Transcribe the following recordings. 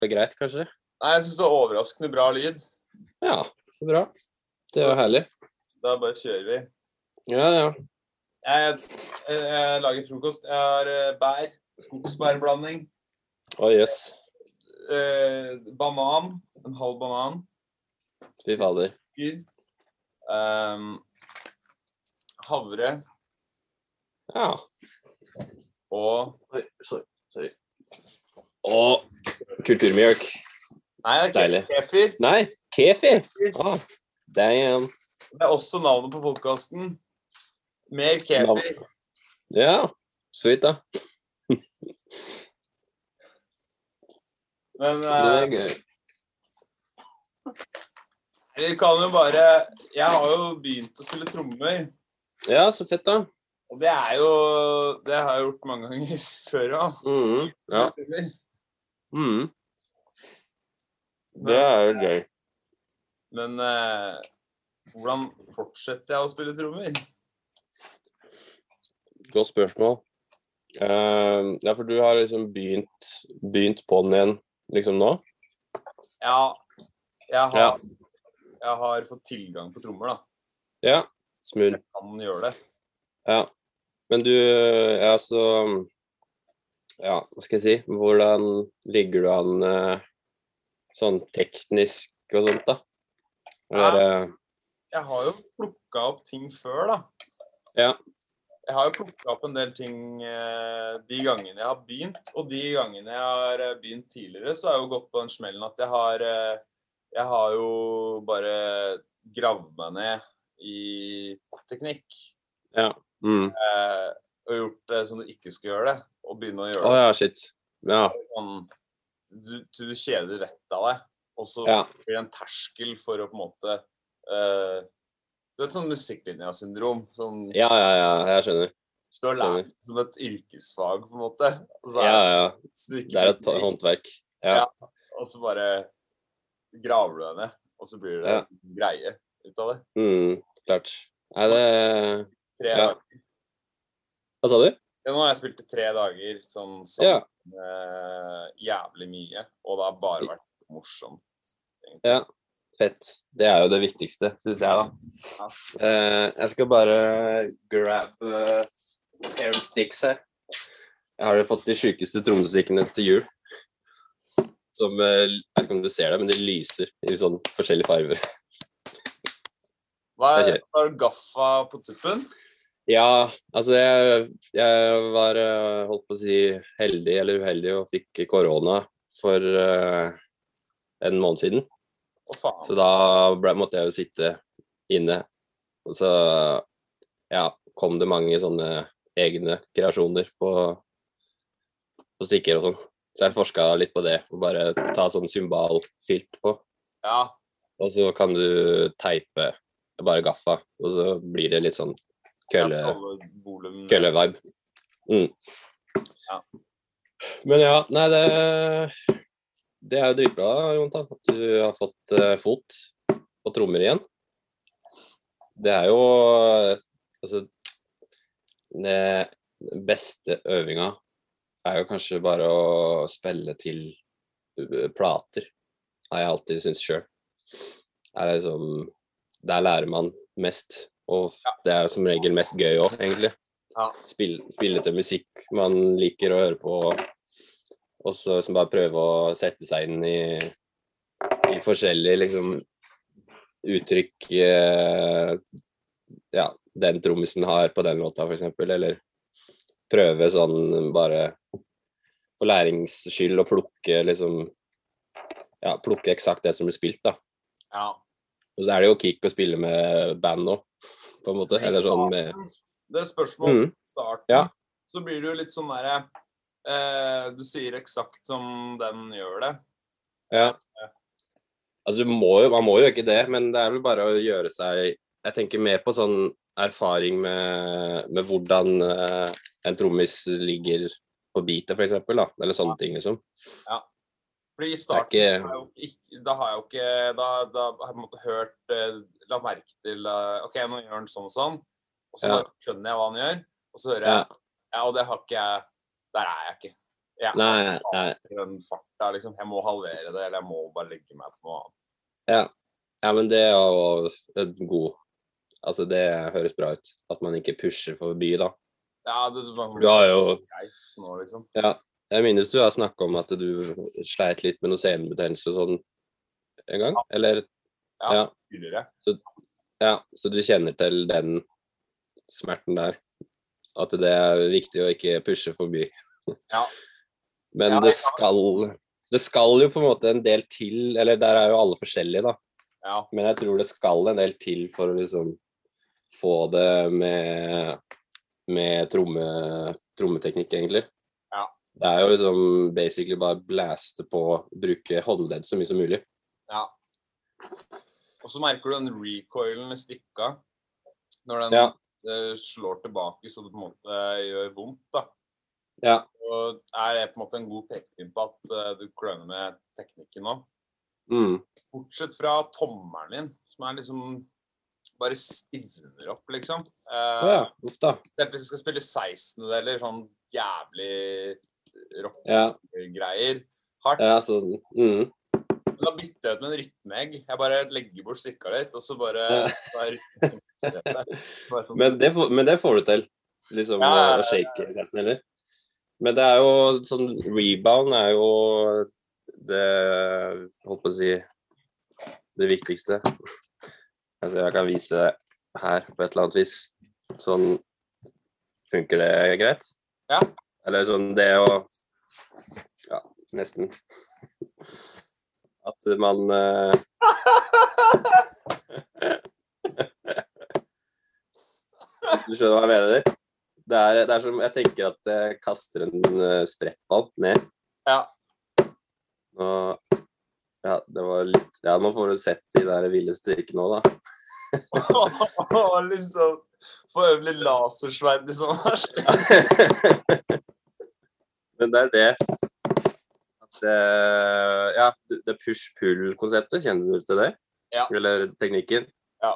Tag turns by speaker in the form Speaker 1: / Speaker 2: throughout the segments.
Speaker 1: greit, kanskje?
Speaker 2: Nei, jeg synes det er overraskende bra lyd.
Speaker 1: Ja, så bra. Det er jo herlig.
Speaker 2: Da bare kjører vi.
Speaker 1: Ja.
Speaker 2: Jeg lager frokost. Jeg har bær, skogsbærblanding.
Speaker 1: Yes.
Speaker 2: Banan, en halv banan.
Speaker 1: Fy fader.
Speaker 2: Havre.
Speaker 1: Ja.
Speaker 2: Og...
Speaker 1: Sorry. Og kulturmjølk.
Speaker 2: Nei, det er
Speaker 1: Deilig.
Speaker 2: kefir.
Speaker 1: Nei, kefir. Damn.
Speaker 2: Det er også navnet på podcasten. Mer kefir.
Speaker 1: Ja, sweet da.
Speaker 2: Men
Speaker 1: det er gøy.
Speaker 2: Vi kan jo bare... Jeg har jo begynt å spille trommer.
Speaker 1: Ja, så fett da.
Speaker 2: Og det er jo... Det har jeg gjort mange ganger før da.
Speaker 1: Ja. Det er jo gøy.
Speaker 2: Men hvordan fortsetter jeg å spille trommer?
Speaker 1: Godt spørsmål. Ja, for du har liksom begynt på den igjen, liksom nå?
Speaker 2: Ja, jeg har fått tilgang på trommer da.
Speaker 1: Ja, smooth.
Speaker 2: Jeg kan gjøre det.
Speaker 1: Ja, men du, ja, hva skal jeg si? Hvordan ligger du an sånn teknisk og sånt da? Eller,
Speaker 2: jeg har jo plukket opp ting før da.
Speaker 1: Ja.
Speaker 2: Jeg har jo plukket opp en del ting de gangene jeg har begynt, og de gangene jeg har begynt tidligere, så har jeg jo gått på den smellen at jeg har jo bare gravd meg ned i teknikk.
Speaker 1: Ja.
Speaker 2: Og gjort det som du ikke skal gjøre det, og begynne å gjøre det.
Speaker 1: Ja, shit. Ja.
Speaker 2: Du kjeder rett av deg, og så blir det en terskel for å på en måte... Du vet sånn musikklinja-syndrom. Sånn,
Speaker 1: ja, jeg skjønner.
Speaker 2: Du har lært som et yrkesfag, på en måte.
Speaker 1: Ja. Det er et håndverk. Ja.
Speaker 2: Og så bare graver du deg ned, og så blir det greie ut av det.
Speaker 1: Klart. Er det...
Speaker 2: 3 dager.
Speaker 1: Hva sa du?
Speaker 2: Ja, nå har jeg spilt i 3 dager, sånn jævlig mye, og det har bare vært morsomt. Egentlig.
Speaker 1: Ja. Fett. Det er jo det viktigste, synes jeg da. Jeg skal bare grab air sticks her. Jeg har jo fått de sykeste trommestikkene til jul. Som, jeg vet ikke om du ser det, men de lyser i sånn forskjellige farver.
Speaker 2: Hva er gaffa på tuppen?
Speaker 1: Ja, altså jeg var, holdt på å si, heldig eller uheldig og fikk korona for en måned siden. Så da måtte jeg jo sitte inne, og så kom det mange sånne egne kreasjoner på stikker og sånn. Så jeg forsket litt på det, og bare ta sånn symbolfilt på. Ja. Og så kan du teipe bare gaffa, og så blir det litt sånn kølle-vibe. Ja. Men ja, nei det er jo dritbra, Jonathan, at du har fått fot på trommer igjen. Det er jo, altså, den beste øvinga er jo kanskje bare å spille til plater, har jeg alltid syntes selv. Der lærer man mest, og det er som regel mest gøy også, egentlig. Spille til musikk man liker å høre på, og så bare prøve å sette seg inn i forskjellige liksom, uttrykk den trommisen har på den låta for eksempel, eller prøve sånn bare for læringsskyld å plukke liksom, plukke eksakt det som blir spilt da. Ja. Og så er det jo kick å spille med band nå, på en måte, eller sånn med...
Speaker 2: Det er spørsmål på starten, så blir det jo litt sånn der... du sier eksakt som den gjør det.
Speaker 1: Ja. Altså, man må jo ikke det, men det er vel bare å gjøre seg... Jeg tenker mer på sånn erfaring med hvordan en trommis ligger på beatet, for eksempel, da. Eller sånne ting, liksom. Ja.
Speaker 2: Fordi i starten da har jeg jo ikke... Da har jeg måttet hørt... La merke til... Ok, nå gjør han sånn og sånn. Og så bare skjønner jeg hva han gjør. Og så hører jeg... Ja, og det har ikke jeg... Der er jeg ikke.
Speaker 1: Nei.
Speaker 2: Den farta, liksom. Jeg må halvere det, eller jeg må bare legge meg på noe annet.
Speaker 1: Ja, men det er jo en god... Altså, det høres bra ut. At man ikke pusher forbi, da.
Speaker 2: Ja, det er sånn
Speaker 1: Du har jo...
Speaker 2: greit nå, liksom.
Speaker 1: Ja, jeg minnes du har snakket om at du sleit litt med noe senebetennelse sånn en gang, eller?
Speaker 2: Ja, tidligere.
Speaker 1: Så du kjenner til den smerten der, at det er viktig å ikke pushe forbi.
Speaker 2: Ja.
Speaker 1: Men det skal jo på en måte en del til, eller der er jo alle forskjellige da.
Speaker 2: Ja.
Speaker 1: Men jeg tror det skal en del til for å liksom få det med trommeteknikk egentlig.
Speaker 2: Ja.
Speaker 1: Det er jo liksom basically bare blaste på, bruke håndledd så mye som mulig.
Speaker 2: Ja. Og så merker du den recoilen i stikka, når den slår tilbake, så det på en måte gjør vondt da.
Speaker 1: Ja.
Speaker 2: Og det på en måte en god pekepinn på at du kløner med teknikken nå. Bortsett fra tommeren din, som liksom bare stivner opp, liksom.
Speaker 1: Uff da.
Speaker 2: Hvis jeg skal spille 16, eller sånn jævlig rock-greier. Hardt.
Speaker 1: Ja, sånn.
Speaker 2: Da bytter jeg ut med en rytmeegg. Jeg bare legger bort stikka litt, og så bare...
Speaker 1: Men det får du til, liksom, å shake nesten, eller? Men det er jo sånn, rebound er jo det, holdt på å si, det viktigste. Altså, jeg kan vise det her på et eller annet vis. Sånn, funker det greit?
Speaker 2: Ja.
Speaker 1: Eller sånn, det å, ja, nesten. At man... Hvis du skjønner hva jeg mener. Det er som, jeg tenker at jeg kaster en sprettball ned.
Speaker 2: Ja.
Speaker 1: Og, ja, det var litt... Ja, man får jo sett de der ville strikkene nå, da.
Speaker 2: Liksom, få øvelig lasersverd i sånn her.
Speaker 1: Men det er det. At, ja, det push-pull-konseptet, kjenner du til det?
Speaker 2: Ja.
Speaker 1: Eller teknikken?
Speaker 2: Ja.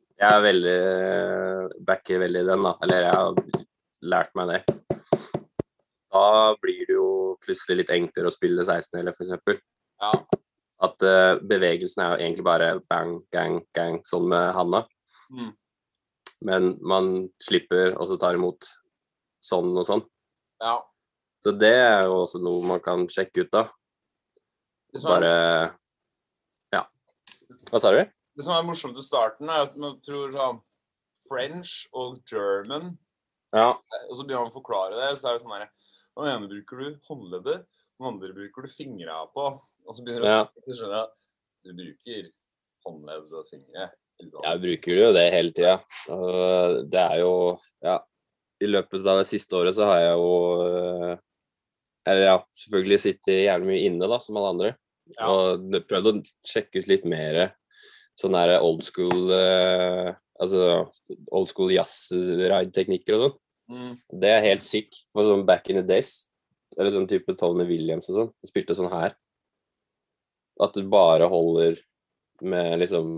Speaker 1: Jeg backer veldig den da, eller jeg har lært meg det. Da blir det jo plutselig litt enklere å spille 16 eller for eksempel.
Speaker 2: Ja.
Speaker 1: At bevegelsen er jo egentlig bare bang, gang, gang, sånn med handa. Men man slipper, og så tar imot sånn og sånn.
Speaker 2: Ja.
Speaker 1: Så det er jo også noe man kan sjekke ut da. Bare, ja. Hva sa du?
Speaker 2: Det som er morsomt i starten er at man tror sånn French og German, og så begynner man å forklare det, så er det sånn her, den ene bruker du håndleddet, den andre bruker du fingrene på, og så begynner du å skjønne at du bruker håndledd og fingre.
Speaker 1: Jeg bruker jo det hele tiden. Det er jo, ja, i løpet av det siste året så har jeg jo, eller ja, selvfølgelig sittet jævlig mye inne da, som alle andre, og prøvd å sjekke ut litt mer sånn der old school, altså old school jazz-ride-teknikker og sånn. Det er helt sick, for sånn back in the days, eller sånn type Tony Williams og sånn, jeg spilte sånn her. At du bare holder med liksom,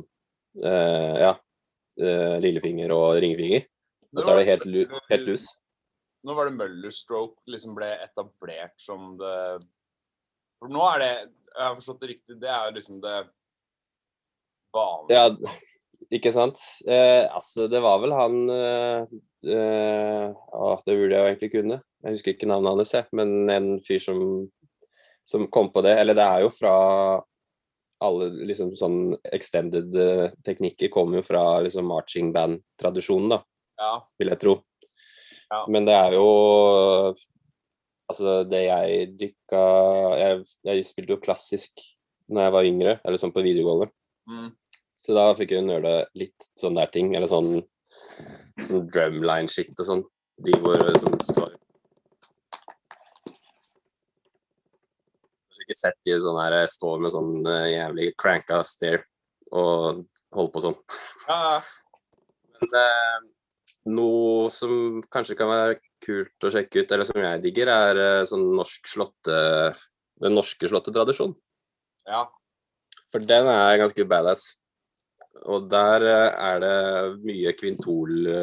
Speaker 1: lillefinger og ringefinger, og så er det helt lus.
Speaker 2: Nå var det Møller-stroke liksom ble etablert som det, for nå er det, jeg har forstått det riktig, det er liksom det vanlig.
Speaker 1: Ja, ikke sant? Altså, det var vel han, det burde jeg jo egentlig kunne. Jeg husker ikke navnet hans, men en fyr som kom på det, eller det er jo fra alle liksom sånn extended teknikker kommer jo fra liksom marching band-tradisjonen da, vil jeg tro. Ja. Men det er jo, altså det jeg jeg spilte jo klassisk når jeg var yngre, eller sånn på videregående. Så da fikk jeg nørde litt sånn der ting, eller sånn drumline shit og sånn. De hvor som står. Jeg har ikke sett de sånn her, står med sånn jævlig cranka stair og holder på sånn.
Speaker 2: Ja.
Speaker 1: Men noe som kanskje kan være kult å sjekke ut, eller som jeg digger, er sånn den norske slåttetradisjonen.
Speaker 2: Ja.
Speaker 1: For den er ganske badass. Og der er det mye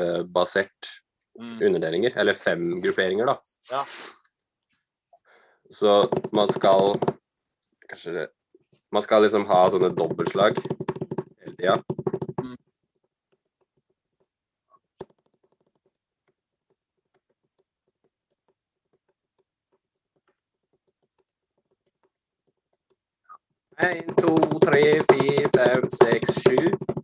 Speaker 1: kvintolbasert underdelinger, eller 5 grupperinger da.
Speaker 2: Ja.
Speaker 1: Så man skal kanskje man skal liksom ha sånne dobbeltslag hele tida. En, to, tre, fire, fem, seks, sju.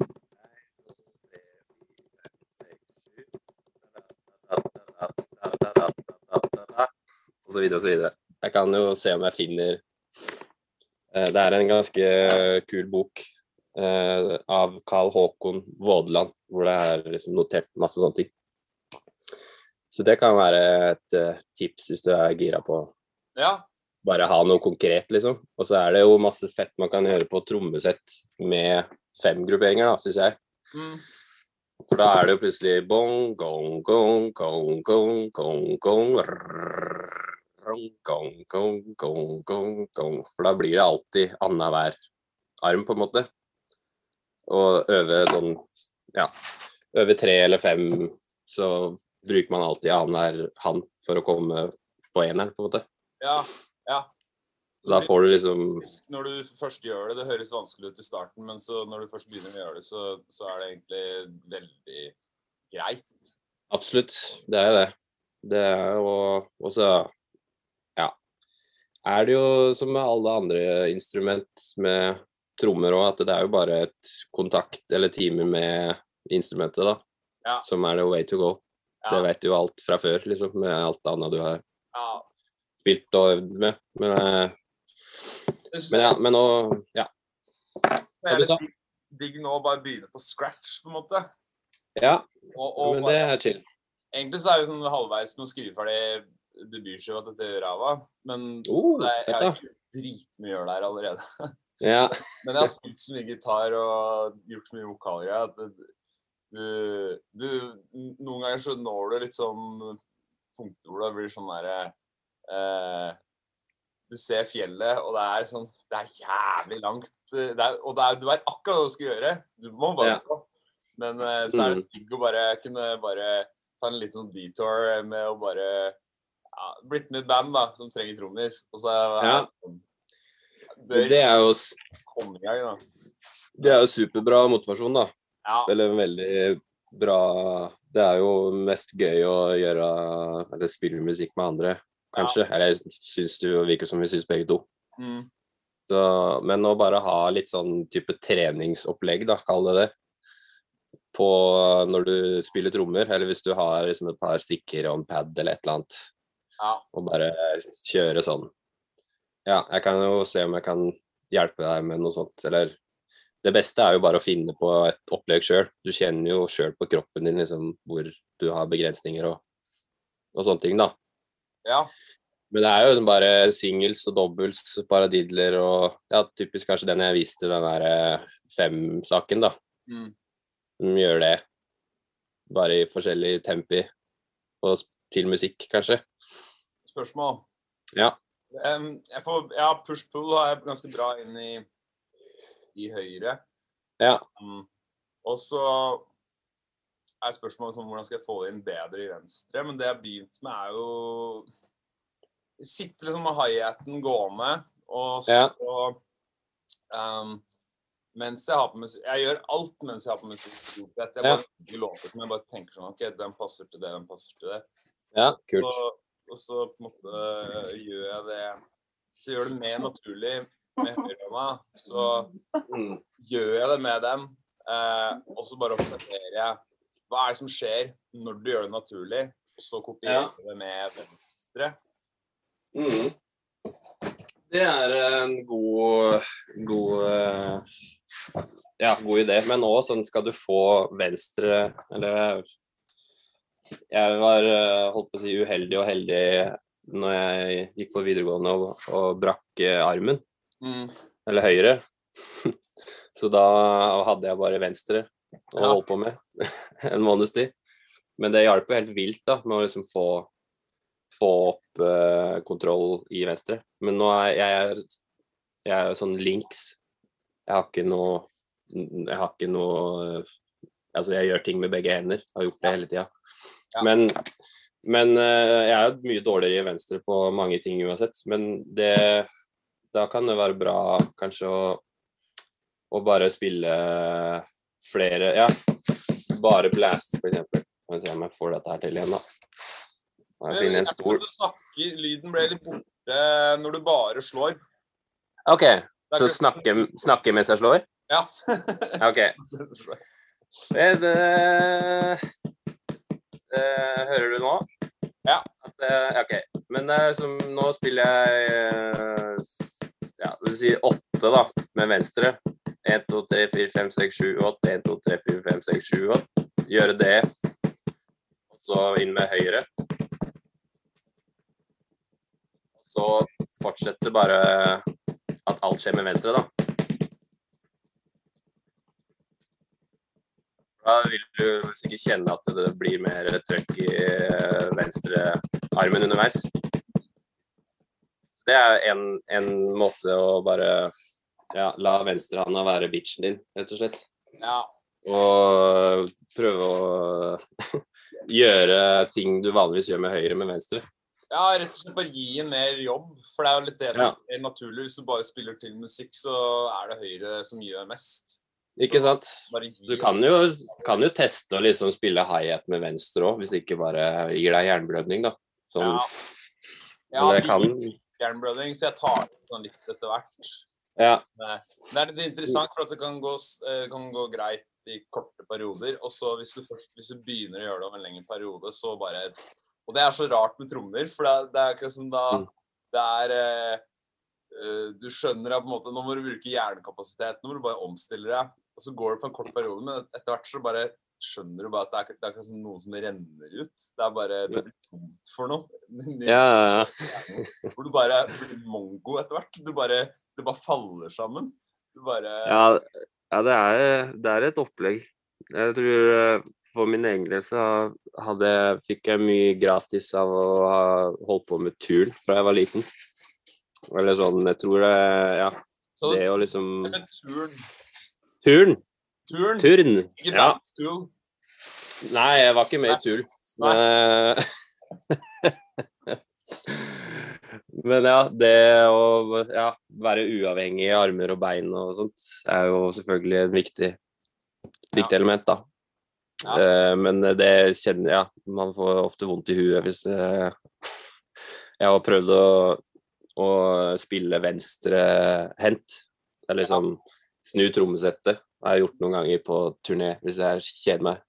Speaker 1: Og så videre og så videre. Jeg kan jo se om jeg finner det en ganske kul bok av Carl Håkon Vådeland, hvor det liksom notert masse sånne ting. Så det kan være et tips hvis du gira på bare ha noe konkret, liksom. Og så det jo masse fett man kan gjøre på trommesett med 5 grupperinger, da, synes jeg. For da det jo plutselig bong, gong, gong, gong, gong, gong, gong, gong, gong, gong, gong, gong. For da blir det alltid annenhver arm, på en måte. Og øve sånn, øve 3 eller 5, så bruker man alltid annenhver hand for å komme på eneren, på en måte.
Speaker 2: Ja.
Speaker 1: Da får du liksom...
Speaker 2: Når du først gjør det høres vanskelig ut i starten, men så når du først begynner å gjøre det, så det egentlig veldig greit.
Speaker 1: Absolutt, det det. Det jo også, det jo som med alle andre instrument med trommer også, at det jo bare et kontakt eller time med instrumentet da, som det way to go. Det vet du jo alt fra før, liksom, med alt annet du har spilt og øvd med. Men nå,
Speaker 2: Hva du sa? Digg nå å bare begynne på scratch, på en måte.
Speaker 1: Ja, men det chill.
Speaker 2: Egentlig så det jo sånn halvveis med å skrive ferdig debutskiva til Rava, men jeg har ikke dritmye å gjøre der allerede.
Speaker 1: Ja.
Speaker 2: Men jeg har spilt så mye gitar og gjort så mye vokaler at noen ganger så når du litt sånn punkter hvor det blir sånn der du ser fjellet, og det sånn, det jævlig langt, og du vet akkurat hva du skal gjøre, du må bare gå. Men så det digg å bare kunne ta en liten sånn detour med å bare blitt med et band da, som trenger trommis, og så
Speaker 1: det jo
Speaker 2: komme i gang da.
Speaker 1: Det jo superbra motivasjon da. Eller veldig bra, det jo mest gøy å gjøre, eller spille musikk med andre. Kanskje, eller jeg synes det virker som vi synes begge to. Så, men å bare ha litt sånn type treningsopplegg da, kall det på når du spiller trommer, eller hvis du har liksom et par stikker og en pad eller et eller annet, og bare kjøre sånn. Jeg kan jo se om jeg kan hjelpe deg med noe sånt, eller det beste jo bare å finne på et opplegg selv. Du kjenner jo selv på kroppen din liksom, hvor du har begrensninger og sånne ting da. Men det jo bare singles og dobbels, paradidler og typisk kanskje den jeg viste, den der 5-saken da. De gjør det bare i forskjellige tempi og til musikk kanskje.
Speaker 2: Spørsmål? Push-pull har jeg ganske bra inn i høyre. Og så spørsmålet om hvordan skal jeg få det inn bedre i venstre, men det jeg har begynt med jo sitte liksom med hi-haten gående, og så mens jeg har på musikk, jeg gjør alt mens jeg har på musikk, jeg bare ikke låter som jeg bare tenker sånn, ok, den passer til det, den passer til det.
Speaker 1: Kult.
Speaker 2: Og så på en måte gjør jeg det, så gjør det mer naturlig med høyrehånda, så gjør jeg det med dem, og så bare observerer jeg hva det som skjer når du gjør det naturlig, og så kopierer jeg det med venstre. Det en god idé, men også sånn skal du få venstre, eller jeg var holdt på å si uheldig og heldig når jeg gikk på videregående og brakk armen, eller høyre, så da hadde jeg bare venstre å holde på med en måneds tid, men det hjalp jo helt vilt da, med å liksom få opp kontroll i venstre, men nå jeg sånn links, jeg har ikke noe, altså jeg gjør ting med begge hender, har gjort det hele tiden, men
Speaker 1: Men jeg er jo mye dårligere i venstre på mange ting uansett. Men da kan det være bra kanskje å bare spille flere, ja, bare blast for eksempel. Må se om jeg får dette her til igjen da. Jeg finner en stor...
Speaker 2: Lyden ble litt borte når du bare slår.
Speaker 1: Ok, så snakke mens jeg slår?
Speaker 2: Ja.
Speaker 1: Ok. Hører du nå?
Speaker 2: Ja.
Speaker 1: Ok, men nå spiller jeg ja, det vil si 8 da, med venstre. 1, 2, 3, 4, 5, 6, 7, 8. 1, 2, 3, 4, 5, 6, 7, 8. Gjøre det. Og så inn med høyre. Og så fortsette bare at alt skjer med venstre da. Da vil du sikkert kjenne at det blir mer trøkk i venstre armen underveis. Det er en måte å bare la venstrehånda være bitchen din, rett og slett.
Speaker 2: Ja.
Speaker 1: Og prøve å gjøre ting du vanligvis gjør med høyre med venstre.
Speaker 2: Ja, rett og slett bare gi en mer jobb, for det er jo litt det som er naturlig. Hvis du bare spiller til musikk, så er det høyre som gjør mest.
Speaker 1: Ikke sant? Du kan jo teste å liksom spille hi-hat med venstre også, hvis det ikke bare gir deg jernblødning da. Sånn,
Speaker 2: ja, det kan... jernblødning, for jeg tar det sånn litt etter hvert.
Speaker 1: Ja.
Speaker 2: Det er litt interessant, for at det kan gå greit i korte perioder, og så hvis du begynner å gjøre det over en lengre periode, så bare... Og det er så rart med trommer, for det er ikke som da... Det er... Du skjønner at på en måte, nå må du bruke hjernekapasitet, nå må du bare omstille deg, og så går det på en kort periode, men etter hvert så bare skjønner du bare at det er ikke noe som renner ut, det er bare, det blir tomt for noe.
Speaker 1: Ja.
Speaker 2: Hvor du bare blir mongo etter hvert, det bare faller sammen.
Speaker 1: Ja, det er et opplegg. Jeg tror for min egen del så fikk jeg mye gratis av å ha holdt på med turn fra jeg var liten. Eller sånn, jeg tror det å liksom... Turn? Ja. Nei, jeg var ikke med i turn. Men ja, det å være uavhengig i armer og bein og sånt, er jo selvfølgelig et viktig element da. Men det kjenner jeg, man får ofte vondt i huet hvis jeg har prøvd å spille venstre hent, eller liksom snu trommesettet. Jeg har gjort noen ganger på turné, hvis jeg kjeder meg.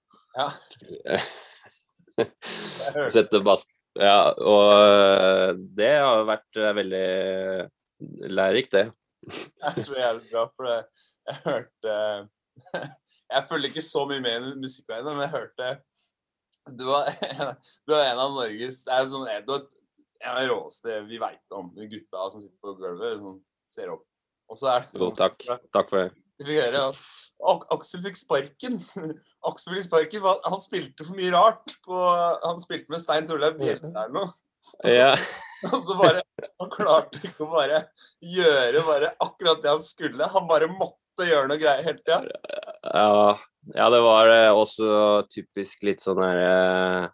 Speaker 1: Ja. Sette bass. Ja, og det har vært veldig lærerikt, det.
Speaker 2: Jeg tror jeg er bra, for jeg hørte... Jeg følger ikke så mye med i musikkverdenen, men jeg hørte... Du var en av Norges... Det er sånn... En av råeste vi vet om, de gutta som sitter på gulvet, som ser opp. Og så er det...
Speaker 1: Jo, takk for det.
Speaker 2: Vi fikk høre, Aksel fikk sparken. Aksel fikk sparken, han spilte for mye rart. Han spilte med Stein Torleif Bjelle eller noe.
Speaker 1: Ja.
Speaker 2: Og så han klarte ikke å bare gjøre akkurat det han skulle. Han bare måtte gjøre noe greier hele tiden.
Speaker 1: Ja, det var også typisk litt sånn her...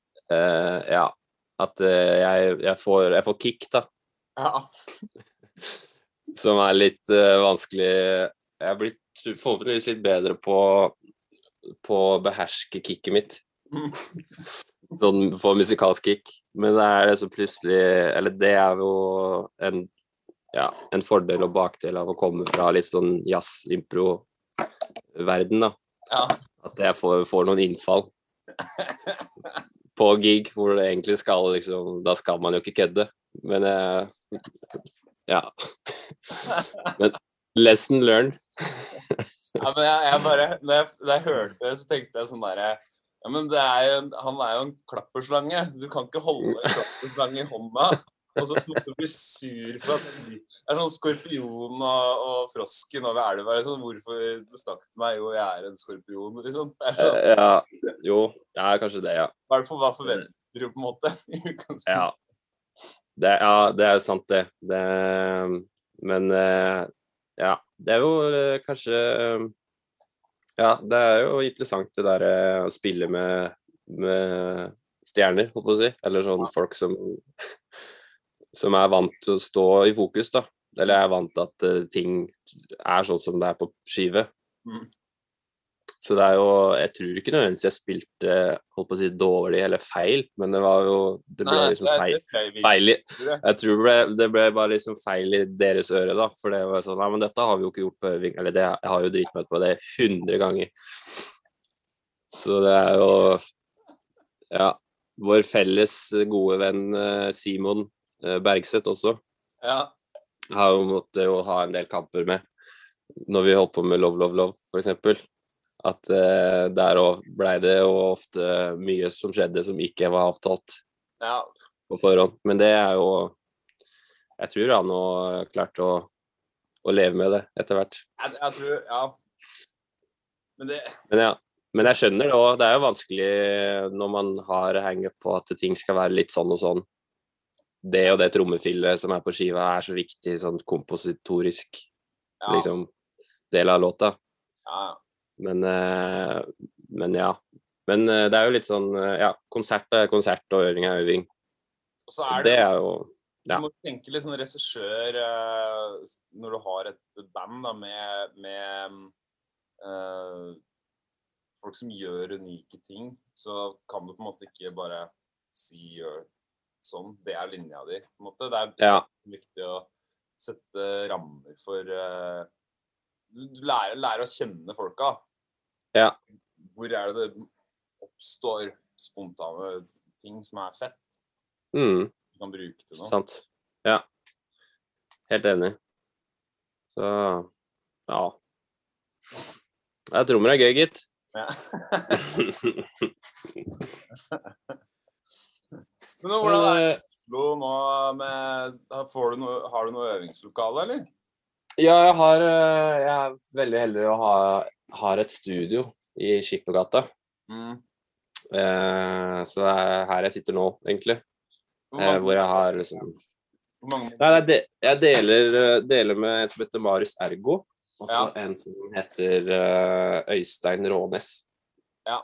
Speaker 1: at jeg får kick da. Ja. Som er litt vanskelig. Jeg har blitt forhåpentligvis litt bedre på å beherske kicket mitt. Sånn på musikalsk kick. Men det er det så plutselig, eller det er jo en fordel og bakdel av å komme fra litt sånn jazz-impro-verden da. Ja. At jeg får noen innfall. På gig, hvor det egentlig skal, liksom, da skal man jo ikke kødde. Men men lesson learned.
Speaker 2: Ja, men jeg bare, når jeg hørte det, så tenkte jeg sånn der, ja, men han er jo en klapperslange. Du kan ikke holde en klapperslange i hånda, og så måtte du bli sur for at det er sånn skorpion og frosken over elva, liksom. Hvorfor du snakket til meg? Jo, jeg er en skorpion, liksom.
Speaker 1: Ja, jo, det er kanskje det, ja.
Speaker 2: Hva forventer du på en måte?
Speaker 1: Ja, det er sant det. Men ja, det er jo kanskje... Ja, det er jo interessant det der å spille med stjerner, holdt på å si. Eller sånn folk som vant til å stå i fokus, da. Eller er vant til at ting sånn som det på skive. Så det jo, jeg tror ikke nødvendigvis jeg spilte, holdt på å si, dårlig eller feil, men det var jo, det ble liksom feil. Jeg tror det ble bare liksom feil i deres øre da, for det var sånn, nei, men dette har vi jo ikke gjort på øving, eller det, jeg har jo dritmøtt på det 100 ganger. Så det jo, ja, vår felles gode venn Simon Bergseth også, har jo måttet jo ha en del kamper med, når vi holdt på med Love, Love, Love, for eksempel. At der ble det jo ofte mye som skjedde som ikke var avtalt på forhånd. Men det jo, jeg tror han har klart å leve med det etter hvert.
Speaker 2: Jeg tror, ja.
Speaker 1: Men jeg skjønner det også, det jo vanskelig når man har hengt på at ting skal være litt sånn og sånn. Det og det trommefillet som på skiva så viktig, sånn kompositorisk liksom, del av låta. Men ja. Men det jo litt sånn, ja, konsert konsert og øving øving.
Speaker 2: Og så
Speaker 1: det jo,
Speaker 2: ja. Du må tenke litt sånn regissør når du har et band da, med folk som gjør unike ting, så kan du på en måte ikke bare si sånn, det linja di, på en måte. Det viktig å sette rammer for du lærer å kjenne folka.
Speaker 1: Ja.
Speaker 2: Hvor det oppstår spontane ting som fett.
Speaker 1: Du
Speaker 2: kan bruke det nå.
Speaker 1: Sant. Ja. Helt enig. Så, ja. Jeg trommer gøy, gitt.
Speaker 2: Ja. Men hvordan det Oslo nå med, har du noe øvingslokale, eller?
Speaker 1: Ja, jeg veldig heldig å ha et studio i Skippergata. Så det her jeg sitter nå, egentlig. Hvor jeg har liksom... Nei, jeg deler med en som heter Marius Ergo, og så en som heter Øystein Rånes.
Speaker 2: Ja.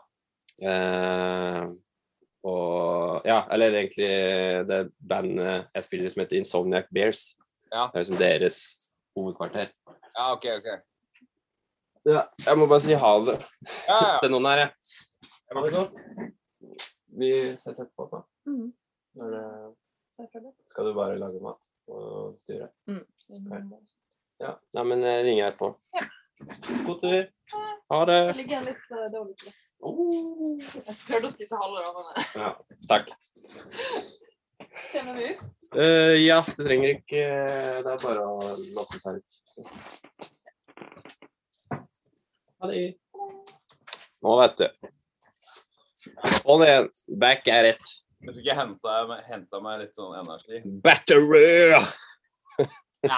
Speaker 1: Og ja, eller egentlig det bandet jeg spiller som heter Insomniac Bears.
Speaker 2: Ja.
Speaker 1: Det liksom deres hovedkvarter.
Speaker 2: Ja, ok.
Speaker 1: Ja, jeg må bare si ha det til noen her,
Speaker 2: Ha det så.
Speaker 1: Vi ses etterpå da. Skal du bare lage mat og styre? Okay. Ja, nei, men jeg ringer her på. Ja. God tur. Ha det.
Speaker 3: Det ligger litt dårlig til det. Jeg prøvde å spise halve da, men...
Speaker 1: Ja, takk.
Speaker 3: Kjenner vi ut?
Speaker 1: Ja, du trenger ikke, det bare å låse seg ut. Ha det. Nå vet du. Og det back rett.
Speaker 2: Jeg tror ikke jeg hentet meg litt sånn energi.
Speaker 1: Battery!
Speaker 2: Jeg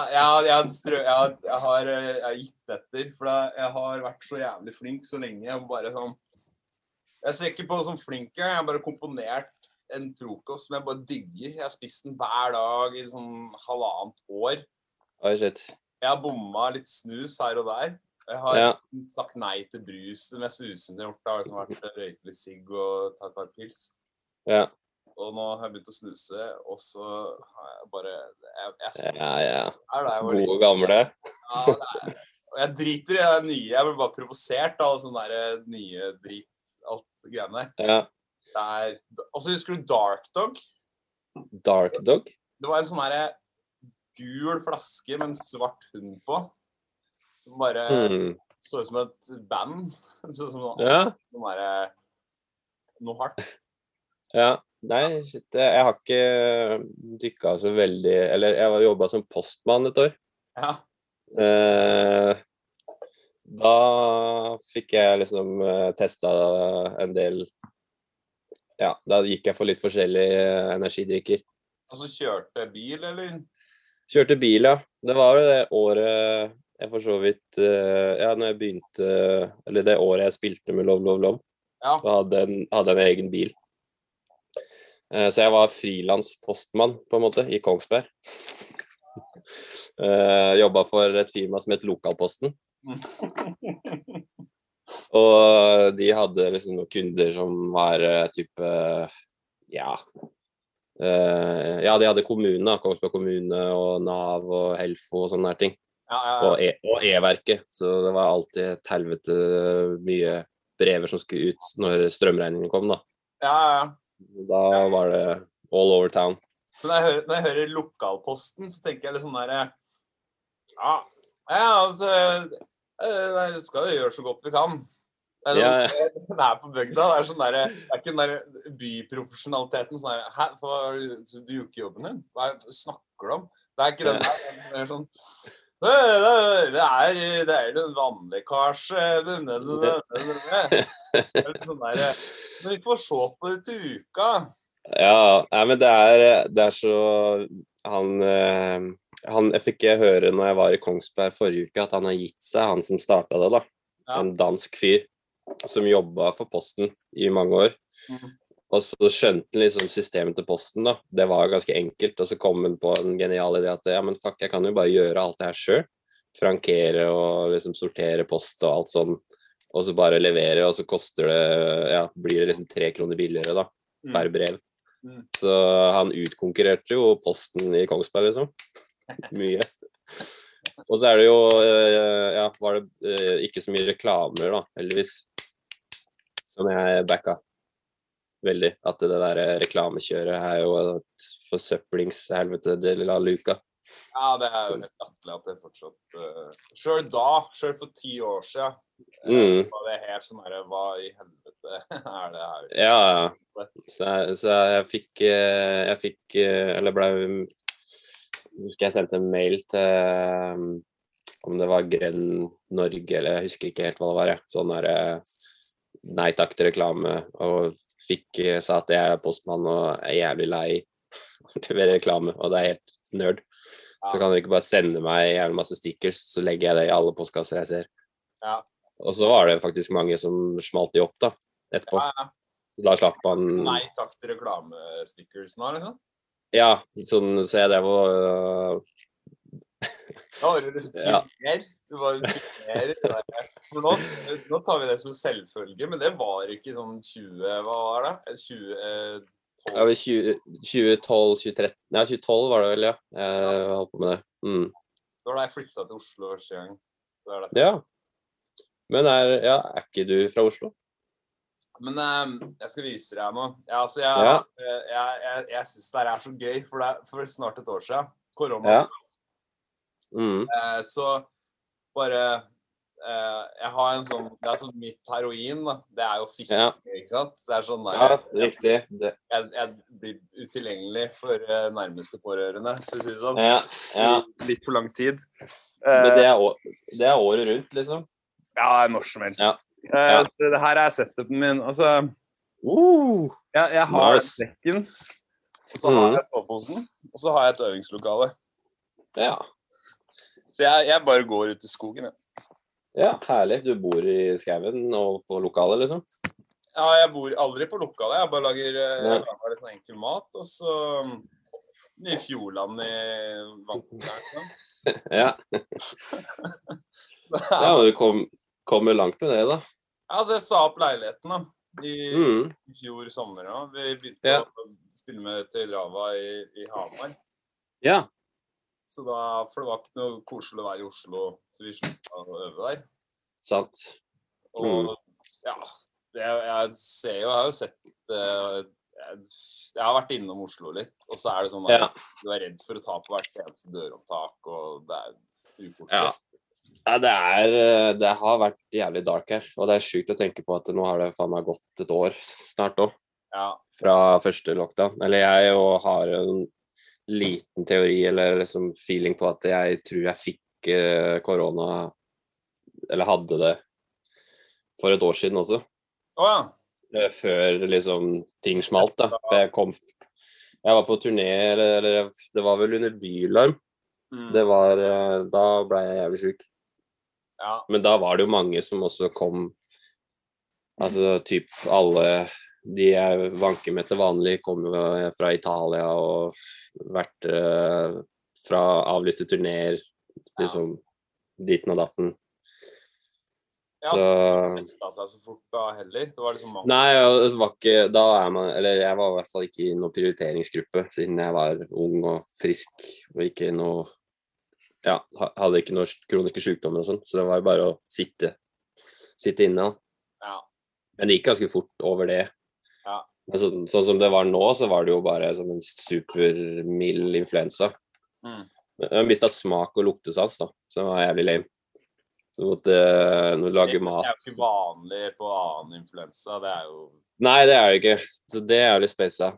Speaker 2: har gitt etter, for jeg har vært så jævlig flink så lenge. Jeg ser ikke på som flink, jeg har bare komponert en frokost som jeg bare digger. Jeg har spist den hver dag i sånn 1,5 år.
Speaker 1: Oi, shit.
Speaker 2: Jeg har bommet litt snus her og der. Jeg har sagt nei til brus. Det mest usende jeg har gjort har liksom vært røykt litt sigg og tatt et par pils.
Speaker 1: Ja.
Speaker 2: Og nå har jeg begynt å snuse, og så har jeg bare...
Speaker 1: Gode gamle.
Speaker 2: Ja, og jeg driter i det nye. Jeg blir bare provosert av sånne der nye drit, alt greiene.
Speaker 1: Ja.
Speaker 2: Og så husker du Dark Dog?
Speaker 1: Dark Dog?
Speaker 2: Det var en sånn der gul flaske med en svart hund på, som bare står som et band. Sånn som noe hardt.
Speaker 1: Ja, nei, shit, jeg har ikke dykket så veldig, eller jeg har jobbet som postmann et år.
Speaker 2: Ja.
Speaker 1: Da fikk jeg liksom testet en del, ja, da gikk jeg for litt forskjellige energidrikker.
Speaker 2: Altså kjørte bil, eller?
Speaker 1: Kjørte bil, ja. Det var jo det året jeg for så vidt, ja, når jeg begynte, eller det året jeg spilte med Love, Love, Love, så hadde en egen bil. Så jeg var frilans postmann, på en måte, i Kongsberg. Jobbet for et firma som het Lokalposten. Og de hadde liksom noen kunder som var type, ja, de hadde kommunen da, Kongsberg kommune og NAV og Helfo og sånne der ting. Og E-verket, så det var alltid et helvete mye brever som skulle ut når strømregningen kom da. Da var det all over town.
Speaker 2: Så når jeg hører lokalposten, så tenker jeg litt sånn der, altså, skal vi gjøre så godt vi kan. Det er på bygda, det er sånn der, det er ikke den der byprofesjonaliteten, sånn der, du gjør ikke jobben din, hva snakker du om? Det er ikke den der, det er sånn, det er en vannlekkasje, det er litt sånn der, men vi får se på det til uka.
Speaker 1: Ja, men det er så, jeg fikk høre når jeg var i Kongsberg forrige uke, at han har gitt seg, han som startet det da, en dansk fyr, som jobbet for Posten i mange år. Og så skjønte han liksom systemet til Posten da. Det var ganske enkelt, og så kom han på en genial idé at ja, men fuck, jeg kan jo bare gjøre alt det her selv. Frankere og liksom sortere post og alt sånn, og så bare levere, og så koster det, blir det liksom 3 kroner billigere da, per brev. Så han utkonkurrerte jo Posten i Kongsberg liksom. Mye. Og så det jo, var det ikke så mye reklamer da, heldigvis. Som jeg backa veldig, at det der reklamekjøret jo et forsøplingshelvete del av luka.
Speaker 2: Ja, det jo helt attelig at det fortsatt, selv for 10 år siden, var det helt sånn her, hva i helvete det her?
Speaker 1: Ja, så jeg fikk, husker jeg sendte en mail til, om det var Grønn Norge, eller jeg husker ikke helt hva det var, sånn der, nei takk til reklame, og sa at jeg postmann og jævlig lei til reklame, og det helt nerd. Så kan dere ikke bare sende meg jævlig masse stickers, så legger jeg det i alle postkasser jeg ser. Og så var det faktisk mange som smalt de opp da, etterpå. Da slapp man...
Speaker 2: Nei takk til reklamestickers nå, liksom?
Speaker 1: Ja, sånn, så jeg drev og...
Speaker 2: Da var det mer. Det var mer. For nå tar vi det som en selvfølge, men det var ikke sånn 20, hva var det? 2012?
Speaker 1: Ja, 2012, 2013, ja 2012 var det vel, ja. Jeg holdt på med det.
Speaker 2: Da var da jeg flyttet til Oslo første gang.
Speaker 1: Ja. Men ikke du fra Oslo?
Speaker 2: Men jeg skal vise deg nå. Jeg synes det så gøy, for snart et år siden, korona. Så bare jeg har en sånn, det sånn mitt heroin da, det jo fiske, ikke sant? Det sånn der,
Speaker 1: riktig.
Speaker 2: Jeg blir utilgjengelig for nærmeste pårørende, for å si det sånn. Litt for lang tid.
Speaker 1: Men det året rundt, liksom?
Speaker 2: Ja, når som helst. Det her setupen min, altså, jeg har stekken, og så har jeg soveposen, og så har jeg et øvingslokale.
Speaker 1: Ja.
Speaker 2: Så jeg bare går ut i skogen,
Speaker 1: Ja, herlig. Du bor i skauen og på lokalet, liksom?
Speaker 2: Ja, jeg bor aldri på lokalet. Jeg bare lager litt sånn enkel mat, og så mye fjordland i vannet.
Speaker 1: Ja. Ja, men du kommer langt med det, da.
Speaker 2: Ja, altså jeg sa opp leiligheten da, i fjor sommer. Da. Vi begynte å spille med Tøydrava i Hamar.
Speaker 1: Ja.
Speaker 2: Så for det var ikke noe koselig å være i Oslo, så vi sluttet å øve der.
Speaker 1: Sant.
Speaker 2: Og jeg ser jo, jeg har jo sett, jeg har vært innom Oslo litt, og så det sånn at du redd for å ta på hvert eneste døropptak, og det ukoselig.
Speaker 1: Ja, det har vært jævlig dark her, og det sykt å tenke på at nå har det faen meg gått et år snart også, fra første lockdown. Eller jeg har en liten teori, eller liksom feeling på at jeg tror jeg fikk korona, eller hadde det for et år siden også. Før liksom ting smalt da. For jeg var på turné, eller det var vel under Bylarm. Da ble jeg jævlig syk. Men da var det jo mange som også kom, altså typ alle de jeg vanker med til vanlig kommer fra Italia og vært fra avlyste turnéer, liksom diten og datten.
Speaker 2: Ja,
Speaker 1: Så
Speaker 2: så testet seg så fort da heller. Det var liksom mange.
Speaker 1: nei, det var ikke, da er man, eller jeg var i hvert fall ikke i noen prioriteringsgruppe, siden jeg var ung og frisk, og ikke noe, ja, hadde ikke noen kroniske sykdommer og sånn, så det var jo bare å sitte inne.
Speaker 2: Ja.
Speaker 1: Men det gikk ganske fort over det.
Speaker 2: Ja.
Speaker 1: Men sånn som det var nå, så var det jo bare som en supermild influensa. Jeg mistet smak og luktesans da, så det var jævlig lame. Så måtte lage mat.
Speaker 2: Det er jo ikke vanlig på annen influensa, det er jo...
Speaker 1: Nei, det er det ikke. Så det er jo litt spesa.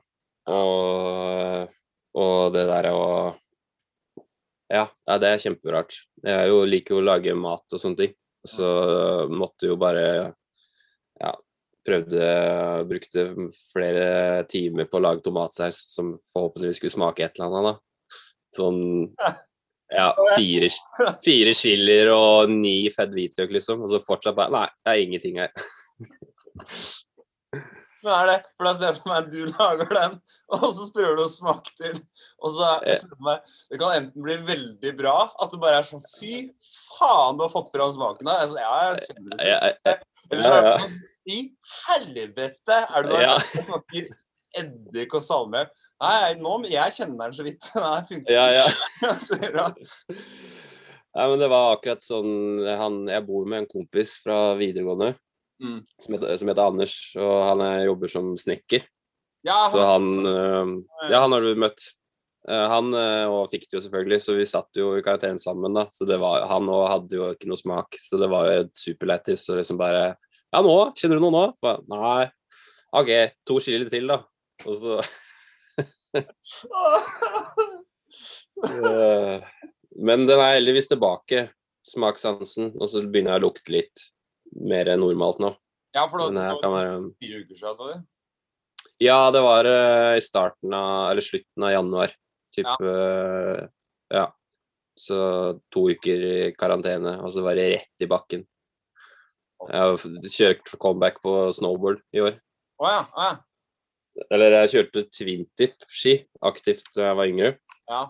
Speaker 1: Og det der å... Ja, det er kjemperart. Jeg liker jo å lage mat og sånne ting. Så måtte jo bare... Ja, brukte flere timer på å lage tomatsaus som forhåpentligvis skulle smake et eller annet da. Sånn... Ja, 4 chilier og 9 fett hvitløk liksom, og så fortsatt bare, nei, det er ingenting her.
Speaker 2: Men det? For da ser jeg for meg at du lager den, og så prøver du å smake til, og så det kan enten bli veldig bra, at det bare er sånn, fy faen, du har fått fra smaken da. Altså, ja, jeg kjenner det sånn. Eller så er det sånn, fy helvete, er du der? Jeg smaker eddik og salme. Nei, jeg kjenner den så vidt. Nei, funker.
Speaker 1: Ja. Nei, men det var akkurat sånn, jeg bor med en kompis fra videregående, som heter Anders, og han jobber som snekker. Ja, så han har du møtt. Han og fikk det jo selvfølgelig, så vi satt jo i karantene sammen da, så han og hadde jo ikke noe smak, så det var jo superlættis, og liksom bare, ja nå, kjenner du noe nå? Bare, nei, ok, 2 chili til da, og så men den er heldigvis tilbake, smakssansen, og så begynner jeg å lukte litt mer normalt nå.
Speaker 2: Ja, for det var 4 uker siden, sa du?
Speaker 1: Ja, det var i slutten av januar, ja. Så 2 uker i karantene, og så var det rett i bakken. Jeg har kjørt comeback på snowboard i år.
Speaker 2: Ja.
Speaker 1: Eller jeg kjørte twin-tip-ski aktivt da jeg var yngre.
Speaker 2: Ja.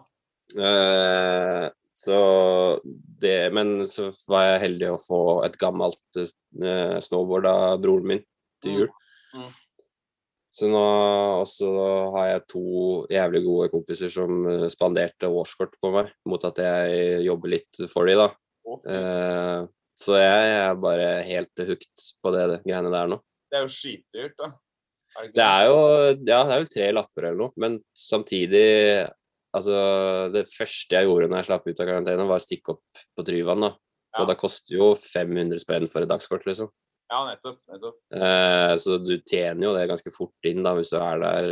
Speaker 1: Men så var jeg heldig å få et gammelt snowboard av broren min til jul. Så nå også har jeg 2 jævlig gode kompiser som spanderte årskort på meg, mot at jeg jobber litt for dem da. Så jeg er bare helt hooked på det greiene der nå.
Speaker 2: Det er jo skitdyrt da.
Speaker 1: Det er jo, ja, det er vel 3 lapper eller noe, men samtidig, altså, det første jeg gjorde når jeg slapp ut av karantene var å stikke opp på Tryvann da, og det koster jo 500 spenn for et dagskort liksom.
Speaker 2: Ja, nettopp.
Speaker 1: Så du tjener jo det ganske fort inn da, hvis du er der,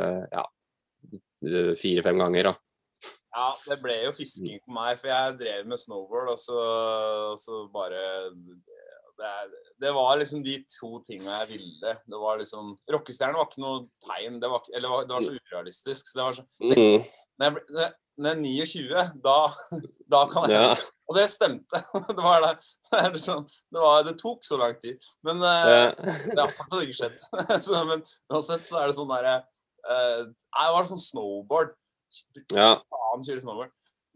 Speaker 1: 4-5 ganger da.
Speaker 2: Ja, det ble jo fisking for meg, for jeg drev med snowboard, og så bare... Det var liksom de 2 tingene jeg ville. Det var liksom... Rockestjernen var ikke noe tegn, det var så urealistisk. Så det var så... Når jeg er 29, da kan jeg... Ja. Og det stemte. Det tok så lang tid. Men det har faktisk ikke skjedd. Men uansett så er det sånn der... det var sånn snowboard. Faen kjøre snowboard.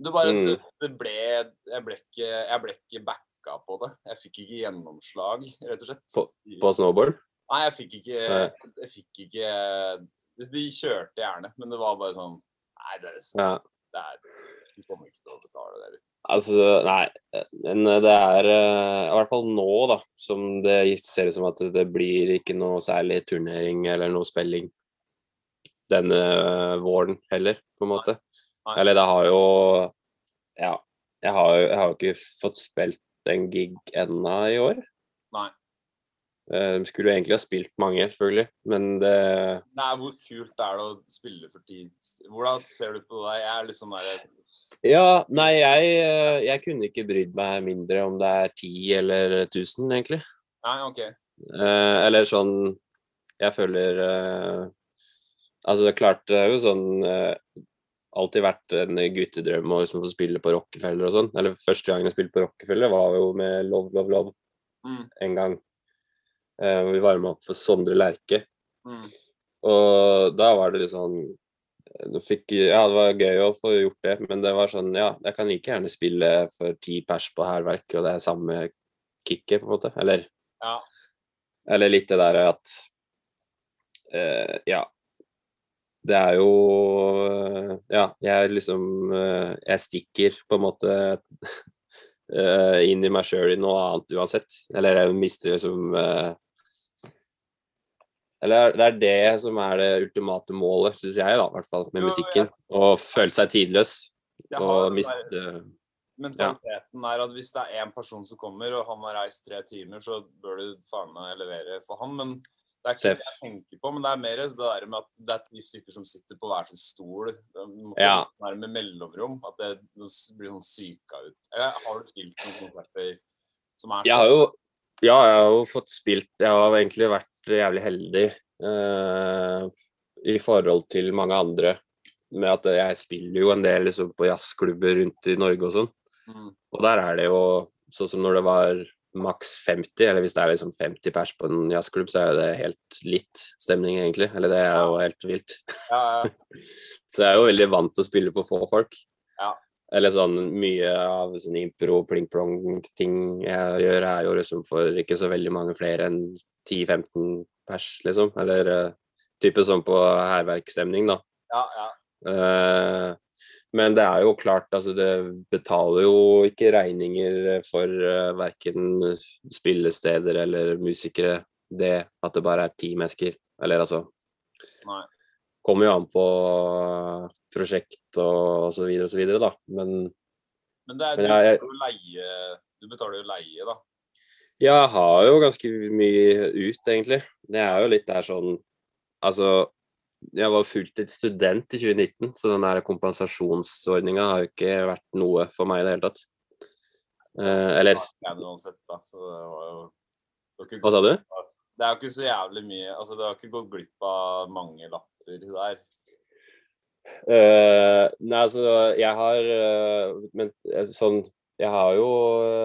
Speaker 2: Jeg ble ikke back på det. Jeg fikk ikke gjennomslag, rett og slett.
Speaker 1: På snowboard?
Speaker 2: Nei, jeg fikk ikke de kjørte gjerne, men det var bare sånn nei, de kommer ikke til å betale det.
Speaker 1: Altså, nei, men det er i hvert fall nå da, som det ser ut som at det blir ikke noe særlig turnering eller noe spilling denne våren heller, på en måte. Nei. Eller det har jo, ja, jeg har jo ikke fått spilt en gig enda i år.
Speaker 2: Nei.
Speaker 1: Skulle jo egentlig ha spilt mange, selvfølgelig, men det...
Speaker 2: Nei, hvor kult er det å spille for tid? Hvordan ser du på det? Jeg er liksom der...
Speaker 1: Ja, nei, jeg kunne ikke brydd meg mindre om det er 10 eller 1000, egentlig.
Speaker 2: Nei, ok.
Speaker 1: Eller sånn, jeg føler... altså, det er klart, det er jo sånn... alltid vært en guttedrøm å liksom få spille på Rockefeller og sånn. Eller første gangen jeg spilte på Rockefeller var jo med Love en gang. Vi var med opp for Sondre Lerche. Og da var det litt sånn, ja, det var gøy å få gjort det, men det var sånn, ja, jeg kan like gjerne spille for 10 pers på Hærverk, og det er samme kicket, på en måte.
Speaker 2: Ja.
Speaker 1: Eller litt det der at ja, det jo ja, jeg stikker på en måte inn i meg selv i noe annet uansett. Eller jeg mister liksom eller det det som det ultimate målet, synes jeg da, i hvert fall med musikken. Å føle seg tidløs og miste
Speaker 2: mentaliteten at hvis det en person som kommer, og han har reist 3 timer, så bør du faen meg levere for han, men det ikke det jeg tenker på, men det mer det der med at det 10 stykker som sitter på hver sin stol, det må være med mellomrom, at det blir sånn syka ut. Eller har du spilt noen konserter som sånn?
Speaker 1: Jeg har jo fått spilt, jeg har egentlig vært jævlig heldig i forhold til mange andre, med at jeg spiller jo en del liksom, på jazzklubber rundt i Norge og sånn. Og der det jo, sånn som når det var maks 50, eller hvis det liksom 50 pers på en jazzklubb, så det helt litt stemning egentlig, eller det jo helt vilt. Så jeg jo veldig vant til å spille for få folk. Eller sånn mye av sånn impro, pling-plong-ting jeg gjør jo liksom for ikke så veldig mange flere enn 10-15 pers, liksom. Eller type sånn på herverkstemning, da. Men det jo klart, altså det betaler jo ikke regninger for hverken spillesteder eller musikere, det at det bare 10 mennesker, eller altså.
Speaker 2: Nei.
Speaker 1: Kommer jo an på prosjekt og så videre da, men det
Speaker 2: du betaler jo leie da.
Speaker 1: Jeg har jo ganske mye ut egentlig, det jo litt der sånn, altså jeg var fulltidsstudent i 2019, så den der kompensasjonsordningen har jo ikke vært noe for meg i det hele tatt. Eller hva sa du?
Speaker 2: Det jo ikke så jævlig mye, altså det har ikke gått glipp av mange lapper der.
Speaker 1: Nei, altså jeg har men sånn, jeg har jo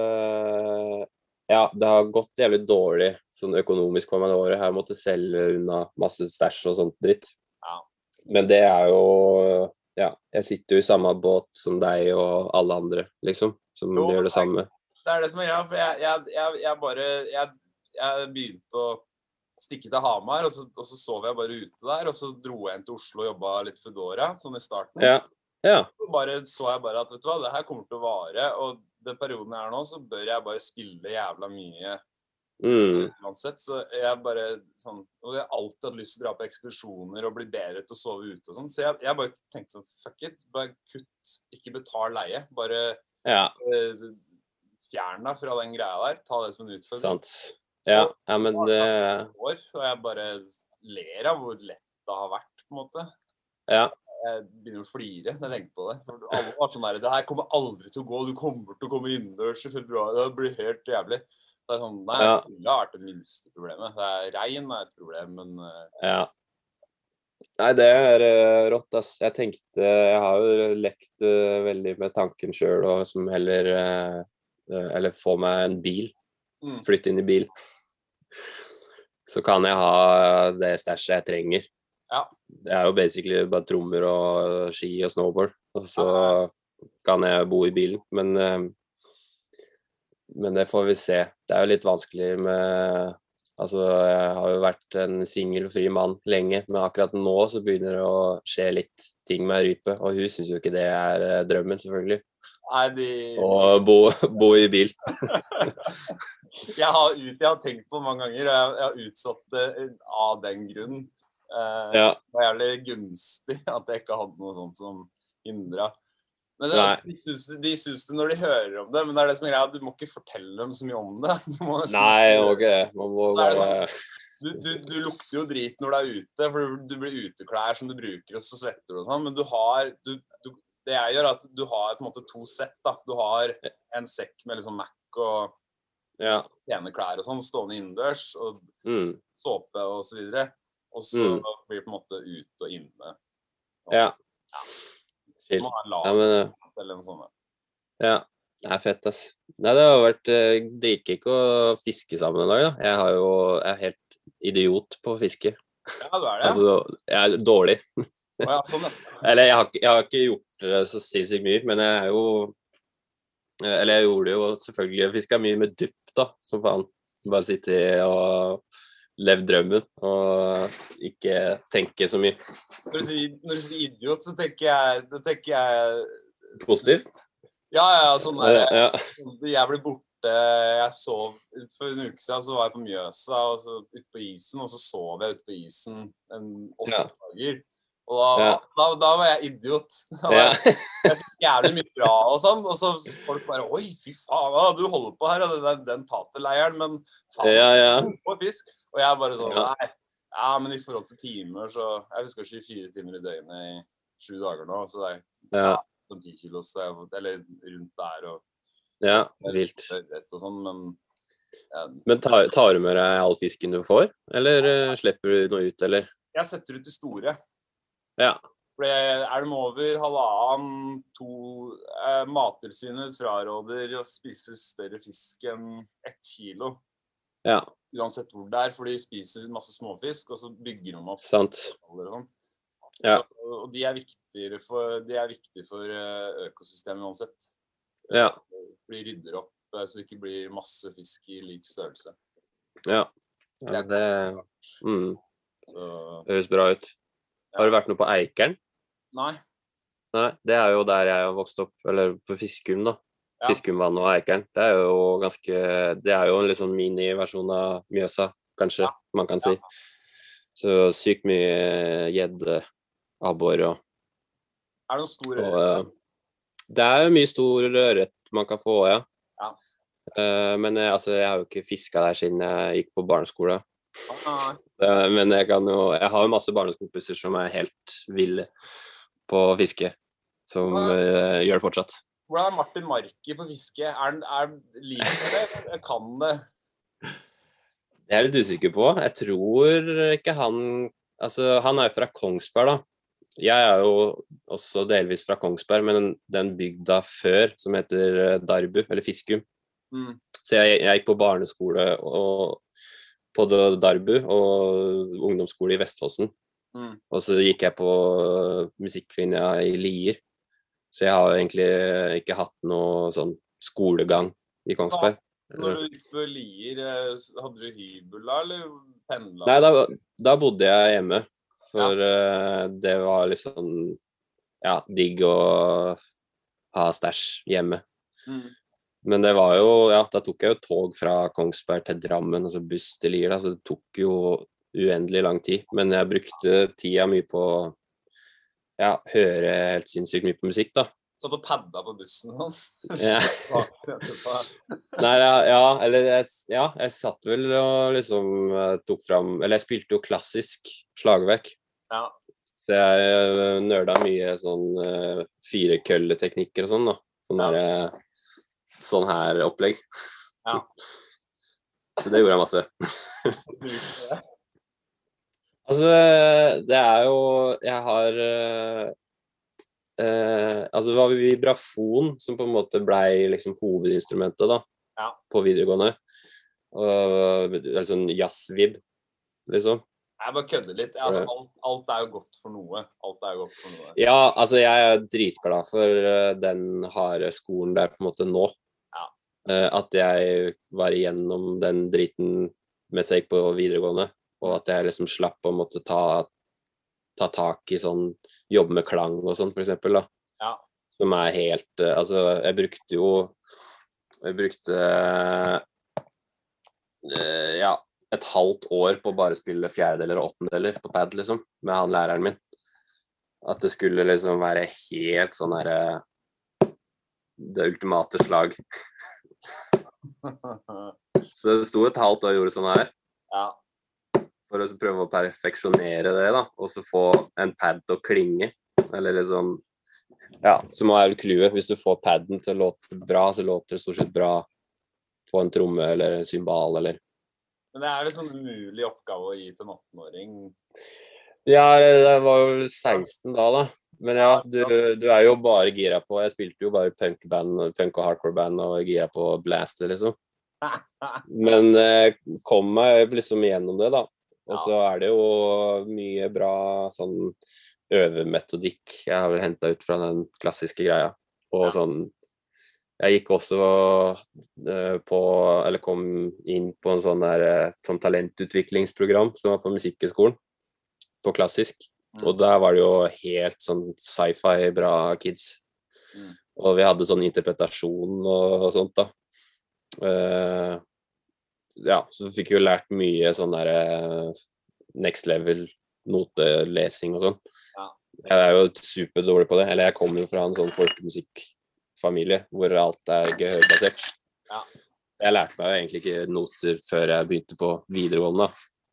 Speaker 1: ja, det har gått jævlig dårlig sånn økonomisk for meg det året. Jeg har måttet selge unna masse stæsj og sånt dritt. Men det jo ja, jeg sitter jo i samme båt som deg og alle andre, liksom, som gjør det samme.
Speaker 2: Det det som greia, for jeg begynte å stikke til Hamar, og så sov jeg bare ute der, og så dro jeg inn til Oslo og jobbet litt Foodora, sånn i starten. Så så jeg bare at, vet du hva, det her kommer til å vare, og den perioden jeg nå, så bør jeg bare spille jævla mye uansett, så jeg bare sånn, og jeg har alltid hatt lyst til å dra på ekspedisjoner og bli bedre til å sove ute og sånn, så jeg bare tenkte sånn, fuck it, bare kutt, ikke betal leie, bare fjern deg fra den greia der, ta det som en utfordring.
Speaker 1: Sant. Ja, men det
Speaker 2: og jeg bare ler av hvor lett det har vært, på en måte. Jeg begynner å flire når jeg tenker på det. Alle var sånn der, det her kommer aldri til å gå, du kommer til å komme innendørs i februar, det blir helt jævlig. Det sånn, nei, det har vært det minste problemet. Det regn et problem, men...
Speaker 1: Nei, det rått, ass. Jeg har jo lekt veldig med tanken selv, og som heller, eller få meg en bil, flytte inn i bil. Så kan jeg ha det stæsjet jeg trenger. Det jo basically bare trommer og ski og snowboard, og så kan jeg bo i bilen, men det får vi se. Det jo litt vanskelig med, altså jeg har jo vært en singelfri mann lenge, men akkurat nå så begynner det å skje litt ting med rype, og hun synes jo ikke det drømmen selvfølgelig. Og bo i bil.
Speaker 2: Jeg har tenkt på mange ganger, og jeg har utsatt det av den grunnen. Det var jævlig gunstig at jeg ikke hadde noe sånt som hindret. Men de synes det når de hører om det, men det det som greia, du må ikke fortelle dem så mye om det.
Speaker 1: Nei, man må bare...
Speaker 2: Du lukter jo drit når du ute, for du blir uteklær som du bruker, og så svetter du og sånn, men du har... Det jeg gjør at du har på en måte 2 sett da. Du har en sekk med liksom Mac og pene klær og sånn, stående innendørs, og såpe og så videre. Og så blir det på en måte ut og inne. Du må ha en lag eller noe sånt.
Speaker 1: Det fett, ass. Nei, det har vært dritkikk å fiske sammen en dag, da. Jeg helt idiot på å fiske.
Speaker 2: Ja, du det.
Speaker 1: Altså, jeg dårlig.
Speaker 2: Sånn,
Speaker 1: Eller jeg har ikke gjort det så sinnssykt mye, men jeg jo Eller jeg gjorde jo selvfølgelig, jeg fisket mye med dupp da, som faen. Bare sitte og leve drømmen, og ikke tenke så mye.
Speaker 2: Når du sier idiot, så tenker jeg
Speaker 1: Positivt?
Speaker 2: Ja, sånn der,
Speaker 1: Ja.
Speaker 2: jeg ble borte, jeg sov, for en uke siden så var jeg på Mjøsa, og så ute på isen, og så sov jeg ute på isen 8 dager. Og da var jeg idiot. Jeg fikk jævlig mye bra og sånn, og så folk bare, oi, fy faen, du holder på her, og den taterleiren, men faen, på fisk. Og jeg bare sånn, nei, men i forhold til timer, så jeg fisker 24 timer i døgnet i 7 dager nå, så det er 10 kilos, eller rundt der, og
Speaker 1: vilt.
Speaker 2: Og sånn,
Speaker 1: men tar du med deg all fisken du får, eller slipper du noe ut, eller?
Speaker 2: Jeg setter ut de store. For de over 1,5, 2 Mattilsynet fraråder å spise større fisk enn 1 kilo. Uansett hvor det for de spiser masse småfisk, og så bygger de opp.
Speaker 1: Sant.
Speaker 2: Og de viktige for økosystemet uansett. For de rydder opp, så det ikke blir masse fisk i lik størrelse.
Speaker 1: Det høres bra ut. Har du vært noe på Eikeren?
Speaker 2: Nei.
Speaker 1: Nei, det jo der jeg har vokst opp, eller på Fiskum da. Fiskumvann og Eikeren. Det jo en litt sånn mini-versjon av Mjøsa, kanskje, man kan si. Så sykt mye gjedde, abbor og...
Speaker 2: Det noen store ørret?
Speaker 1: Det jo mye stor ørret man kan få, men jeg har jo ikke fisket der siden jeg gikk på barneskole. Men jeg har jo masse barneskompiser som helt ville på fiske, som gjør det fortsatt.
Speaker 2: Hvordan Martin Marki på fiske? Liker det? Kan det?
Speaker 1: Jeg litt usikker på. Jeg tror ikke han... Altså, han jo fra Kongsberg, da. Jeg jo også delvis fra Kongsberg, men den bygda før, som heter Darbu, eller Fiskum. Så jeg gikk på barneskole på Darbu, og ungdomsskole i Vestfossen. Og så gikk jeg på musikklinja i Lier. Så jeg har egentlig ikke hatt noe sånn skolegang i Kongsberg.
Speaker 2: Når du gikk på Lier, hadde du hybel da, eller pendla?
Speaker 1: Nei, da bodde jeg hjemme, for det var liksom, digg å ha stæsj hjemme. Men det var jo, da tok jeg jo tog fra Kongsberg til Drammen, og så buss til Lier, da, så det tok jo uendelig lang tid. Men jeg brukte tida mye på høre helt sinnssykt mye på musikk, da.
Speaker 2: Så du padda på bussen sånn?
Speaker 1: Nei, jeg satt vel og liksom tok fram, eller jeg spilte jo klassisk slagverk. Så jeg nørda mye sånn 4-kølleteknikker og sånn da. Sånn her opplegg. Så det gjorde jeg masse. Altså, det jo, jeg har... altså det var vibrafon som på en måte ble liksom hovedinstrumentet da, på videregående. Og sånn jazzvib, liksom.
Speaker 2: Jeg bare kødder litt. Altså, alt jo godt for noe.
Speaker 1: Ja, altså jeg dritglad for den harde skolen der på en måte nå. At jeg var igjennom den driten mens jeg gikk på videregående, og at jeg liksom slapp å måtte ta tak i sånn, jobbe med klang og sånn, for eksempel, da. Som helt, altså, jeg brukte et halvt år på å bare spille fjerdedeler og åttendeler på pad, liksom, med han læreren min. At det skulle liksom være helt sånn her, det ultimate slag. Så det sto et halvt år og gjorde sånn her. For å prøve å perfeksjonere det da, og så få en pad til å klinge, eller liksom, så må jeg klue, hvis du får padden til å låte bra, så låter det stort sett bra på en tromme eller en symbal, eller...
Speaker 2: Men det en sånn umulig oppgave å gi til en 18-åring.
Speaker 1: Ja, det var jo 16 da. Men du jo bare gira på, jeg spilte jo bare punk og hardcore band, og gira på blaster, liksom. Men kom meg liksom gjennom det da. Og så det jo mye bra sånn øvemetodikk jeg har vel hentet ut fra den klassiske greia. Og sånn Jeg gikk også eller kom inn på en sånn talentutviklingsprogram som var på Musikkhøgskolen, på klassisk. Og der var det jo helt sånn sci-fi bra kids. Og vi hadde sånn interpretasjon og sånt da. Ja, så fikk vi jo lært mye sånn next level notelesing og sånn. Jeg jo superdårlig på det, eller jeg kommer jo fra en sånn folkemusikkfamilie hvor alt gehørbasert. Jeg lærte meg jo egentlig ikke noter før jeg begynte på videregående.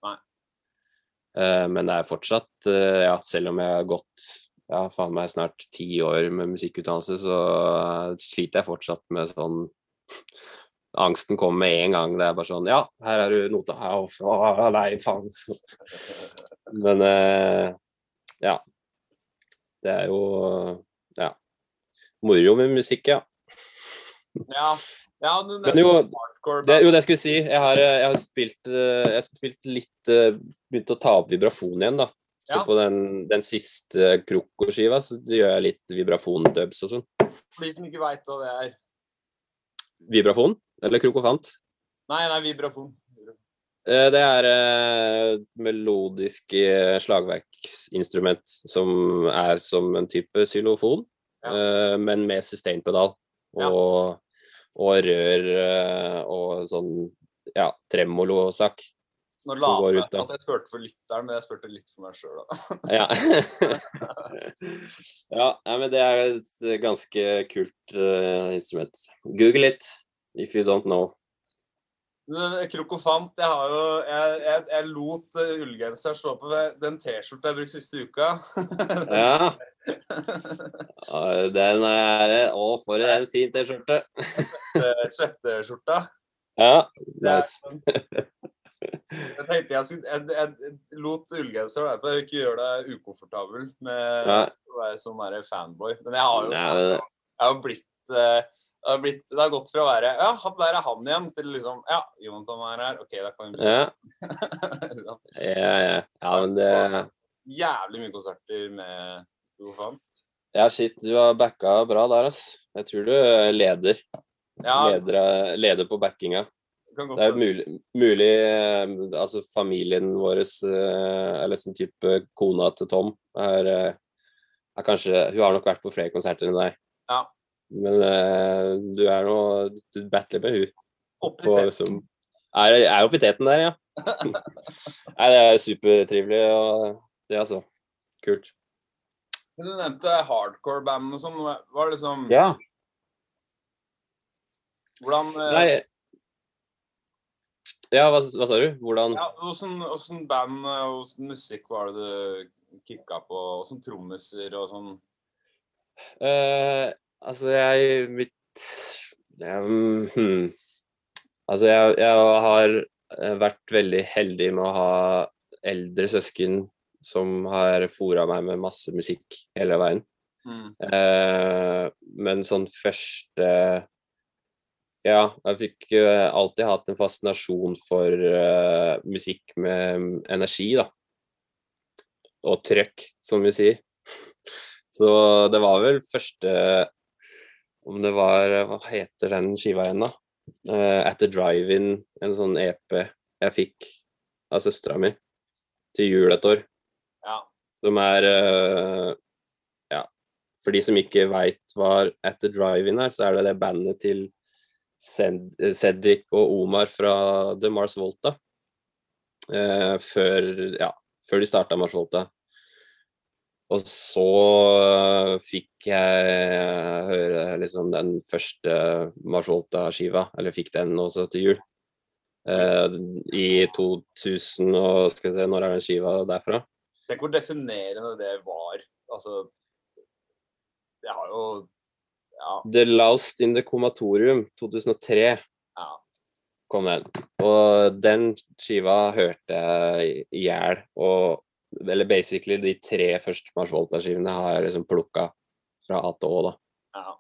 Speaker 1: Men det fortsatt, ja, selv om jeg har gått, ja, faen meg snart 10 år med musikkutdannelse, så sliter jeg fortsatt med sånn, angsten kommer med en gang, det bare sånn, ja, her du nota, nei, faen. Men, ja. Det jo, ja, moro med musikk, ja.
Speaker 2: Ja, du
Speaker 1: men jo, det skulle jeg si, jeg har spilt litt, begynt å ta opp vibrafon igjen da. Så på den siste Kroko-skiva, så gjør jeg litt vibrafon-dubs og sånn.
Speaker 2: For de som ikke vet hva det
Speaker 1: Vibrafon? Eller krokofant?
Speaker 2: Nei, vibrafon.
Speaker 1: Det melodisk slagverksinstrument som som en type xylofon, men med sustain-pedal og rør og sånn, ja, tremolo-sak.
Speaker 2: Nå la jeg at jeg spurte for lytteren, men jeg spurte litt for meg selv da.
Speaker 1: Ja, men det et ganske kult instrument. Google it, if you don't know.
Speaker 2: Krokofant, jeg lot ullgenser stå på den t-skjorta jeg brukte siste uka.
Speaker 1: Ja. Den for en fin t-skjorte.
Speaker 2: Svetteskjorta.
Speaker 1: Ja, nice.
Speaker 2: Jeg tenkte jeg lot ullgenser være på, jeg vil ikke gjøre deg ukomfortabel med å være sånn fanboy. Men jeg har blitt det har gått fra å være, ja, der han igjen, til liksom, ja, Jonathan her, ok, da kan vi
Speaker 1: ja, men det
Speaker 2: jævlig mye konserter med Krokofant.
Speaker 1: Ja, shit, du har backa bra der, ass. Jeg tror du leder på backinga. Det mulig, altså familien vår, eller sånn type kona til Tom, kanskje, hun har nok vært på flere konserter enn deg.
Speaker 2: Ja.
Speaker 1: Men du du battler med hun.
Speaker 2: Opp i teten.
Speaker 1: Opp i teten der, ja. Nei, det supertrivelig, og det altså, kult.
Speaker 2: Du nevnte hardcore-band og sånn, var det liksom...
Speaker 1: Ja.
Speaker 2: Hvordan...
Speaker 1: Nei, ja, hva sa du? Hvordan...
Speaker 2: Ja, hvordan band, hvordan musikk var det du kikket på, hvordan trommeser og sånn?
Speaker 1: Altså, altså, jeg har vært veldig heldig med å ha eldre søsken som har foret meg med masse musikk hele veien. Men sånn første... Ja, jeg fikk alltid hatt en fascinasjon for musikk med energi, da. Og trøkk, som vi sier. Så det var vel første, om det var, hva heter den skiva igjen da? At the Drive-In, en sånn EP jeg fikk av søstera mi til jul et år.
Speaker 2: Ja.
Speaker 1: Som ja, for de som ikke vet hva At the Drive-In så det bandet til Cedric og Omar fra The Mars Volta. Før de startet Mars Volta. Og så fikk jeg høre liksom den første Mars Volta-skiva, eller fikk den også til jul. I 2000, og skal vi se, når den skiva derfra?
Speaker 2: Tenk hvor definerende det var. Altså, det har jo... Ja.
Speaker 1: The Lost in the Comatorium, 2003, kom den. Og den skiva hørte jeg i hjel, eller basically de 3 første Mars Volta-skivene har jeg liksom plukket fra A til Å da.
Speaker 2: Ja.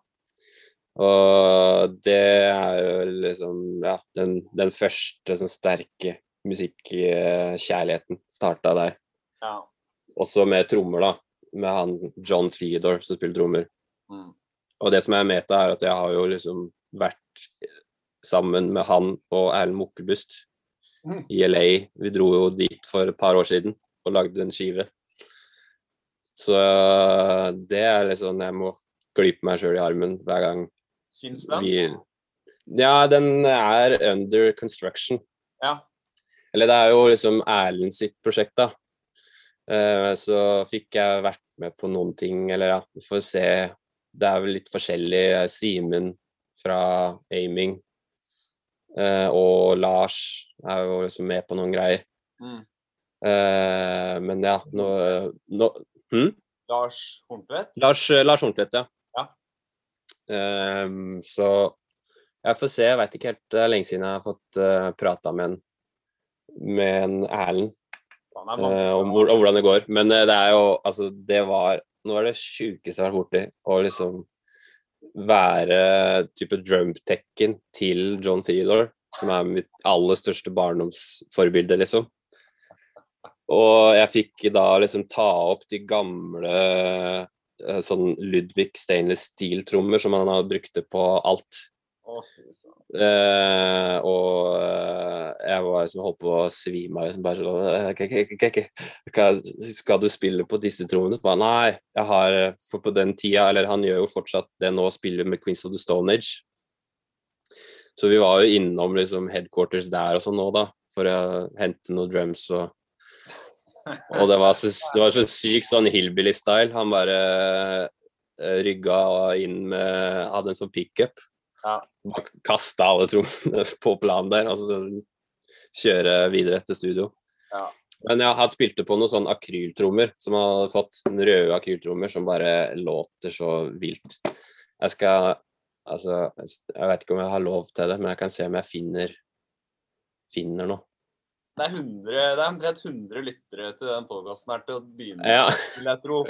Speaker 1: Og det jo liksom, ja, den første sånn sterke musikkjærligheten startet der. Også med trommer da, med han John Theodore som spiller trommer. Og det som meta at jeg har jo liksom vært sammen med han og Erlend Mukkebust i LA. Vi dro jo dit for et par år siden og lagde en skive. Så det liksom, jeg må klippe meg selv i armen hver gang.
Speaker 2: Finns den?
Speaker 1: Ja, den under construction.
Speaker 2: Ja.
Speaker 1: Eller det jo liksom Erlend sitt prosjekt da. Så fikk jeg vært med på noen ting, eller ja, vi får se. Det vel litt forskjellig. Simen fra Aiming og Lars jo liksom med på noen greier. Men ja,
Speaker 2: Lars Horntvedt?
Speaker 1: Lars Horntvedt, ja. Så jeg får se, jeg vet ikke helt, det lenge siden jeg har fått pratet med en Erlend om hvordan det går, men det jo, altså det var, nå det sjukeste jeg har vært borti, å liksom være type drumtekken til John Theodore, som mitt aller største barndomsforbilde liksom. Og jeg fikk da liksom ta opp de gamle sånn Ludwig Stainless Steel-trommer som han har brukte på alt. Og jeg var liksom holdt på å svime liksom bare sånn, skal du spille på disse trommene? Bare, nei, jeg har, for på den tida, eller han gjør jo fortsatt det nå, spiller med Queens of the Stone Age. Så vi var jo innom liksom headquarters der og sånn nå da, for å hente noen drums og det var så sykt sånn hillbilly-style. Han bare rygga inn med, hadde en sånn pick-up.
Speaker 2: Ja.
Speaker 1: Kastet alle trommene på planen der, og så kjøre videre til studio.
Speaker 2: Ja.
Speaker 1: Men jeg hadde spilt på noen sånn akryltrommer, som hadde fått en røde akryltrommer, som bare låter så vilt. Jeg vet ikke om jeg har lov til det, men jeg kan se om jeg finner noe.
Speaker 2: Det omtrent 100 lyttere til den podcasten her til å begynne, vil jeg tro.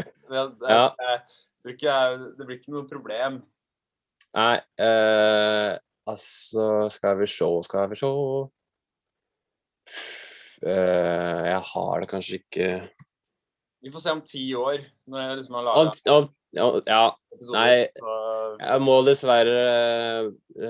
Speaker 2: Det blir ikke noe problem.
Speaker 1: Nei, altså, skal vi se. Jeg har det kanskje ikke.
Speaker 2: Vi får se om 10 år, når jeg liksom har laget.
Speaker 1: Ja, nei, jeg må dessverre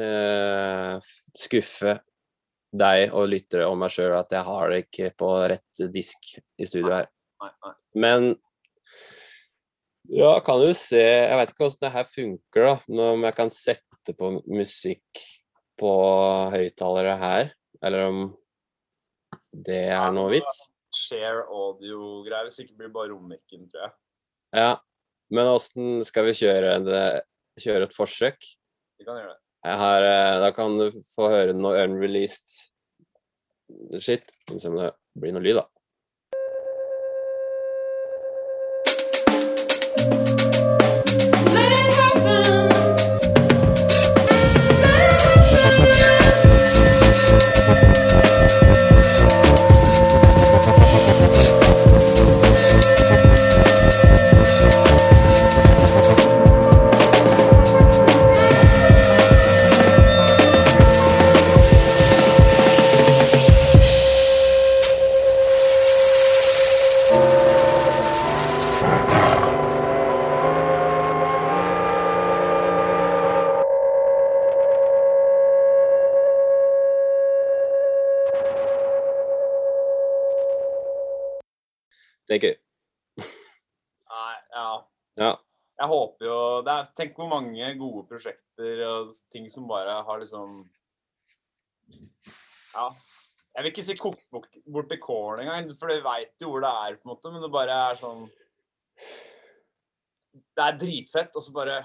Speaker 1: skuffe deg og lyttere om meg selv at jeg har det ikke på rett disk i studio her.
Speaker 2: Nei.
Speaker 1: Men ja, kan du se, jeg vet ikke hvordan det her funker da, om jeg kan sette på musikk på høyttalere her, eller om det noe vits.
Speaker 2: Share audio-greier, hvis ikke blir bare rommikken, tror jeg.
Speaker 1: Ja, men hvordan skal vi kjøre et forsøk?
Speaker 2: Vi kan gjøre det.
Speaker 1: Da kan du få høre noe unreleased shit, som det blir noe lyd da. Tenker.
Speaker 2: Ja. Jeg håper jo, tenk hvor mange gode prosjekter og ting som bare har liksom, ja, jeg vil ikke si kokt bort til kåren engang, for jeg vet jo hvor det på en måte, men det bare sånn, det dritfett, og så bare,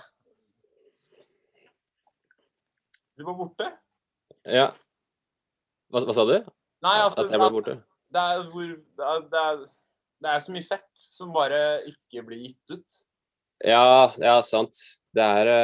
Speaker 2: du var borte.
Speaker 1: Ja. Hva sa du?
Speaker 2: Nei, altså,
Speaker 1: at jeg ble borte?
Speaker 2: Det så mye fett som bare ikke blir gitt ut.
Speaker 1: Ja, sant. Det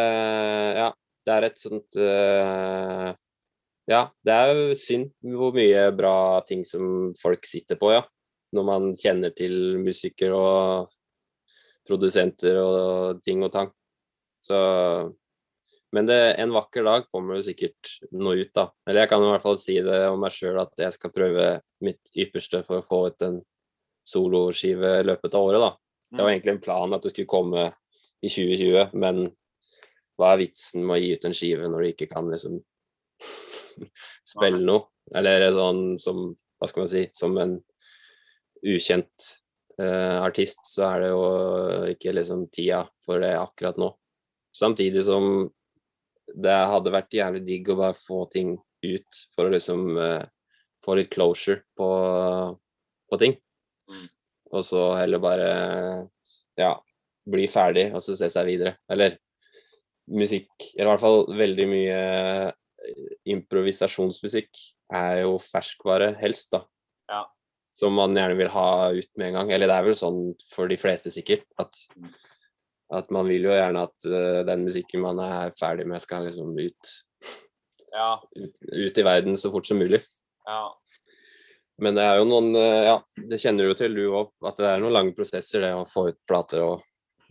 Speaker 1: et sånt ja, det jo synd hvor mye bra ting som folk sitter på, ja. Når man kjenner til musikere og produsenter og ting og tang. Så, men en vakker dag kommer det sikkert noe ut da. Eller jeg kan i hvert fall si det om meg selv at jeg skal prøve mitt ypperste for å få ut en soloskive i løpet av året da. Det var egentlig en plan at det skulle komme i 2020, men hva vitsen med å gi ut en skive når du ikke kan liksom spille noe? Eller sånn som, hva skal man si, som en ukjent artist, så det jo ikke liksom tida for det akkurat nå. Samtidig som det hadde vært jævlig digg å bare få ting ut for å liksom få litt closure på ting. Og så heller bare, ja, bli ferdig og så se seg videre. Eller musikk, eller i hvert fall veldig mye improvisasjonsmusikk jo ferskvare helst da.
Speaker 2: Ja.
Speaker 1: Som man gjerne vil ha ut med en gang. Eller det vel sånn for de fleste sikkert, at man vil jo gjerne at den musikken man ferdig med skal liksom ut i verden så fort som mulig.
Speaker 2: Ja. Men
Speaker 1: det jo noen, ja, det kjenner du jo til du også, at det noen lange prosesser det å få ut plater og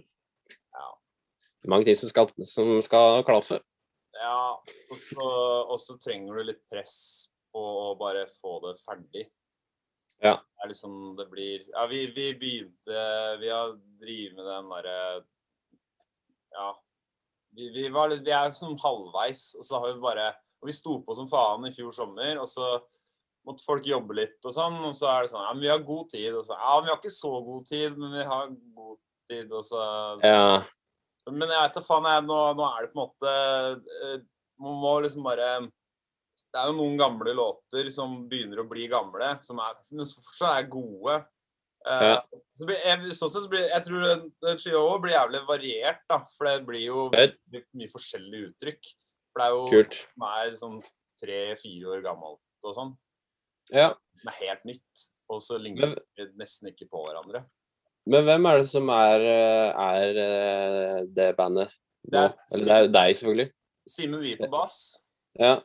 Speaker 1: mange ting som skal klaffe. Ja, og så trenger du litt press på å bare få det ferdig. Ja. Det liksom, det blir, ja, vi begynte, vi har drivet med den der, ja, vi sånn halvveis, og så har vi bare, og vi sto på som faen i fjor sommer, og så måtte folk jobbe litt og sånn, og så det sånn, ja, men vi har god tid, og så, ja, vi har ikke så god tid, men vi har god tid, og så, ja. Men jeg vet da faen, nå det på en måte, man må liksom bare, det jo noen gamle låter som begynner å bli gamle, som men fortsatt gode. Ja. Så jeg tror den skiva blir jævlig variert da, for det blir jo mye forskjellige uttrykk. For det jo kult. Sånn 3-4 år gammelt og sånn. Ja. Så det helt nytt, og så ligner det nesten ikke på hverandre. Men hvem det som det bandet? Eller det deg selvfølgelig. Simen Wie på bass. Ja.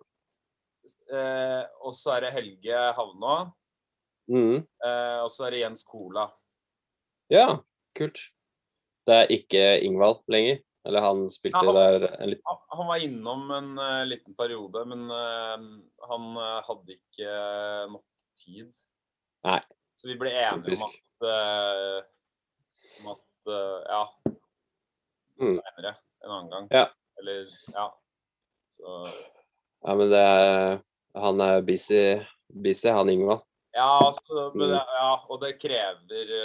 Speaker 1: Og så det Helge Havnå. Og så det Jens Kola. Ja, kult. Det ikke Ingvald lenger? Eller han spilte der en litt... Han var innom en liten periode, men han hadde ikke nok tid. Nei. Så vi ble enige om at ja, senere, en annen gang. Ja. Eller, ja. Så... Ja, men han busy, han Ingvald. Ja, altså, men og det krever,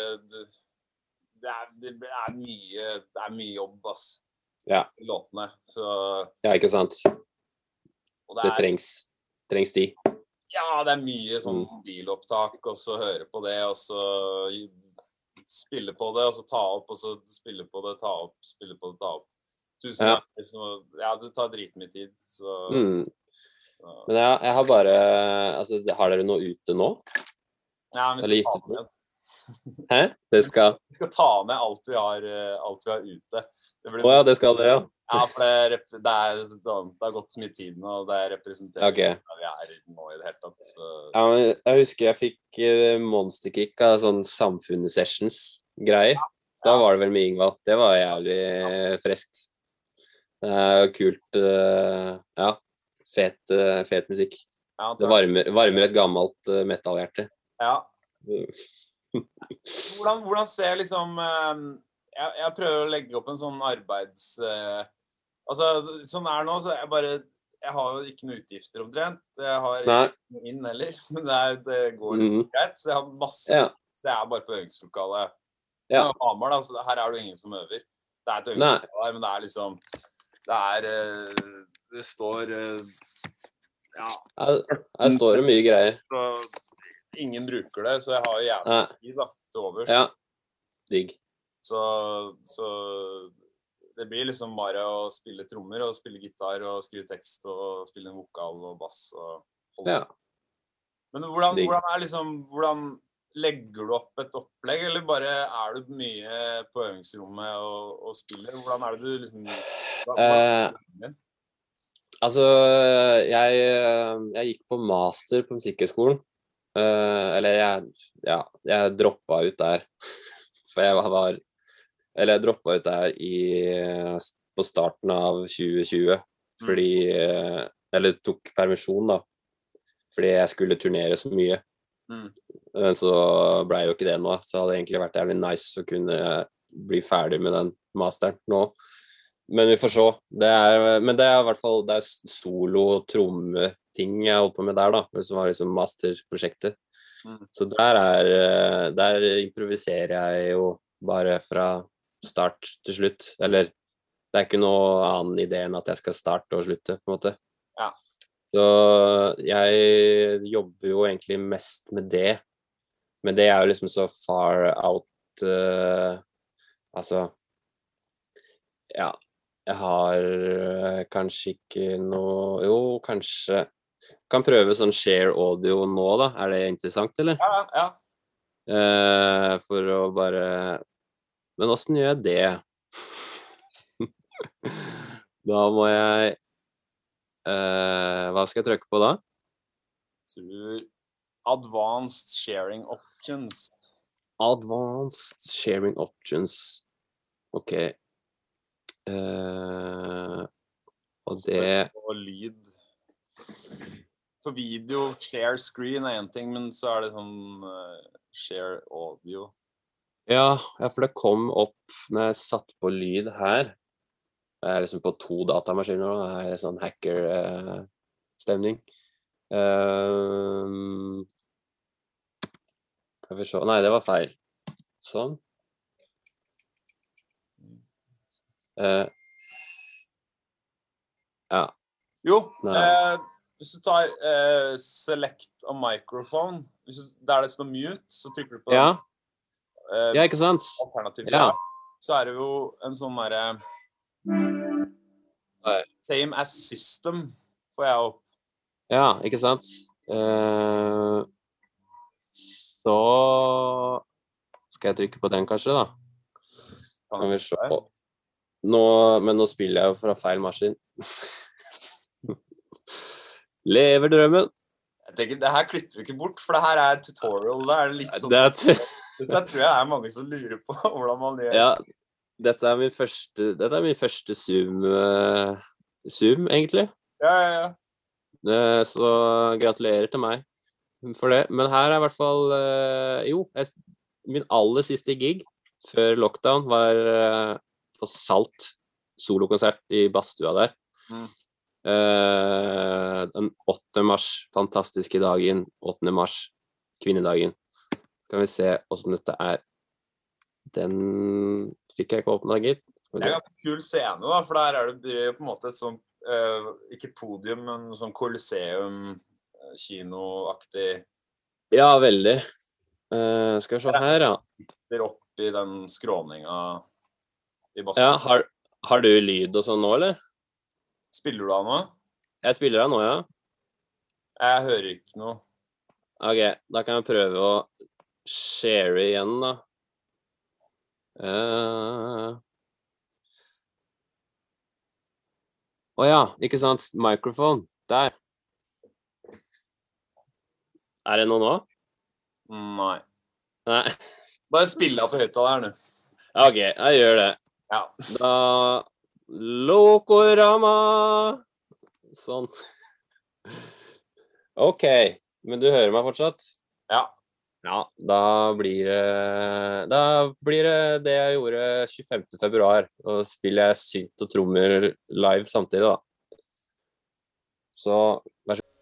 Speaker 1: det mye jobb, ass. Ja. I låtene, så... Ja, ikke sant? Og det trengs de. Ja, det mye sånn bilopptak, og så høre på det, og så spille på det, og så ta opp, og så spille på det, ta opp, spille på det, ta opp. Tusen ganger, ja, det tar dritmye tid, så... Men jeg har bare, altså, har dere noe ute nå? Ja, men vi skal ta med. Hæ? Vi skal ta med alt vi har ute. Ja, det skal det, ja. Ja, for det har gått mye tid nå, og det representerer der vi nå i det hele tatt. Så. Ja, men jeg husker jeg fikk monsterkick av sånn samfunnssessions-greier. Da var det vel med Ingvald. Det var jævlig freskt. Det kult, ja. Fet musikk. Ja, det varmer et gammelt metallhjerte. Ja. Hvordan ser liksom jeg prøver å legge opp en sånn arbeids altså sånn nå så jeg har jo ikke noe utgifter omtrent. Jeg har ikke noe inn heller, men det går liksom greit, så jeg har masse så jeg bare på øvingslokalet. Ja. Hamar da, så her det jo ingen som øver. Det et øvingslokale der, men det liksom det står ja. Her står det mye greier. Så ingen bruker det, så jeg har jo jævlig tid da, til overs. Ja, digg. Så det blir liksom bare å spille trommer og spille gitar og skrive tekst og spille en vokal og bass og holde. Ja. Men hvordan legger du opp et opplegg, eller bare du mye på øvingsrommet og spiller? Hvordan det du liksom... Altså, jeg gikk på master på musikkhøgskolen, eller jeg droppet ut der, for jeg droppet ut der på starten av 2020, fordi, eller tok permisjon da, fordi jeg skulle turnere så mye, men så ble jo ikke det nå, så hadde det egentlig vært jævlig nice å kunne bli ferdig med den masteren nå, Men vi får se. Men det er i hvert fall det er solo-tromme-ting jeg holder på med der, da. Som var liksom masterprosjektet. Så der improviserer jeg jo bare fra start til slutt. Eller det er ikke noe annen idé enn at jeg skal starte og slutte, på en måte.
Speaker 2: Ja.
Speaker 1: Så jeg jobber jo egentlig mest med det. Men det er jo liksom så far out altså ja, jeg har kanskje ikke noe jo, kanskje kan prøve sånn share audio nå da, er det interessant, eller?
Speaker 2: Ja.
Speaker 1: For å bare men hvordan gjør jeg det? Da må jeg hva skal jeg trykke på da?
Speaker 2: Tror Advanced Sharing Options.
Speaker 1: Advanced Sharing Options. Ok. Og det
Speaker 2: Og lyd. For video, share screen er en ting, men så er det sånn share audio.
Speaker 1: Ja, for det kom opp når jeg satt på lyd her. Jeg er liksom på 2 datamaskiner, og det er sånn hacker-stemning. Skal vi se. Nei, det var feil. Sånn. Ja.
Speaker 2: Jo, hvis du tar select a microphone, der det står mute, så trykker du på
Speaker 1: Ja. Ja, ikke sant?
Speaker 2: alternativ,
Speaker 1: Ja.
Speaker 2: så er det jo en sånn der same as system, får jeg opp.
Speaker 1: Ja, ikke sant? Så skal jeg trykke på den kanskje da? Kan vi se. Men nå spiller jeg jo fra feil maskin. Lever drømmen.
Speaker 2: Jeg tenker, det her klipper vi ikke bort, for det her er tutorial. Det er litt sånn. Det tror jeg er mange som lurer på hvordan man gjør.
Speaker 1: Ja, dette er min første Zoom, egentlig.
Speaker 2: Ja.
Speaker 1: Så gratulerer til meg for det. Men her er i hvert fall min aller siste gig før lockdown var på Salt solokonsert i Bastua der. Den 8. mars, fantastiske dagen, 8. mars, kvinnedagen. Kan vi se hvordan dette er. Den fikk jeg ikke åpnet, gitt.
Speaker 2: Det er en kul scene da, for der er det på en måte et sånt, ikke podium, men sånn Colosseum, kinoaktig.
Speaker 1: Ja, veldig. Skal vi se her, ja.
Speaker 2: Sitter opp i den skråninga i Bastua.
Speaker 1: Ja, har du lyd og sånn nå, eller?
Speaker 2: Spiller du av nå?
Speaker 1: Jeg spiller av nå, ja.
Speaker 2: Jeg hører ikke noe.
Speaker 1: Ok, da kan jeg prøve å share igjen, da. Ja, ikke sant? Microphone. Der. Er det noe nå?
Speaker 2: Nei.
Speaker 1: Nei.
Speaker 2: Bare spille av på høyttaleren, du.
Speaker 1: Ok, jeg gjør det.
Speaker 2: Ja.
Speaker 1: Da Lokorama. Sånn. Ok, men du hører meg fortsatt?
Speaker 2: Ja.
Speaker 1: Ja, da blir det det jeg gjorde 25. februar, og spiller jeg synt og trommer live samtidig da. Så, vær så god.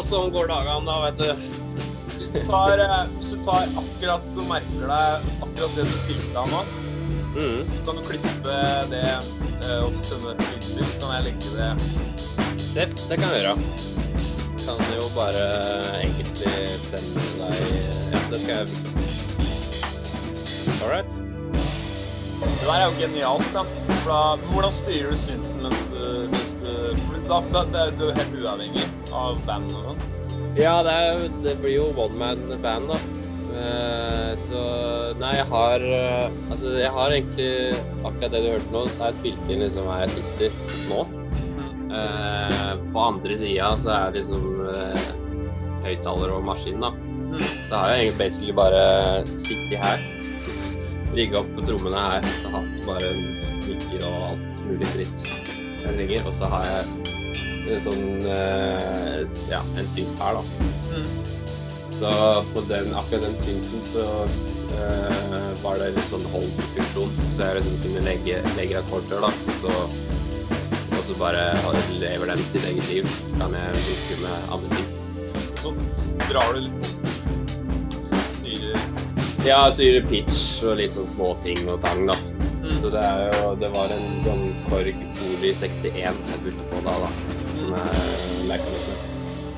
Speaker 1: sånn går dagene da, vet du.
Speaker 2: Hvis du tar akkurat og merker deg akkurat det du spilte av nå, så kan du klippe det og sende det til inntil, så kan jeg legge det.
Speaker 1: Sepp, det kan jeg gjøre. Kan jo bare egentlig sende deg... Ja, det skal jeg... Alright.
Speaker 2: Det der jo genialt, da. For da, hvordan styrer du synten mens du er jo helt uavhengig av band og sånn?
Speaker 1: Ja, det blir jo one-man-band da. Så, nei, jeg har egentlig akkurat det du hørte nå, så har jeg spilt inn liksom her jeg sitter nå. På andre siden så er det liksom høyttaler og maskin da. Så har jeg egentlig basically bare sittet her, rigget opp på trommene her, så hatt bare mikker og alt mulig dritt jeg trenger, og så har jeg sånn, en synt her da. Så på akkurat den synten så var det litt sånn hold-funksjon, så jeg liksom kunne legge akkorder da, og så bare lever den sitt eget liv, så kan jeg bruke med andre ting.
Speaker 2: Så drar du litt
Speaker 1: Ja, syre pitch og litt sånn små ting og tang da. Så det var en sånn Korg Poli 61 jeg spilte på da, som jeg lærte litt med.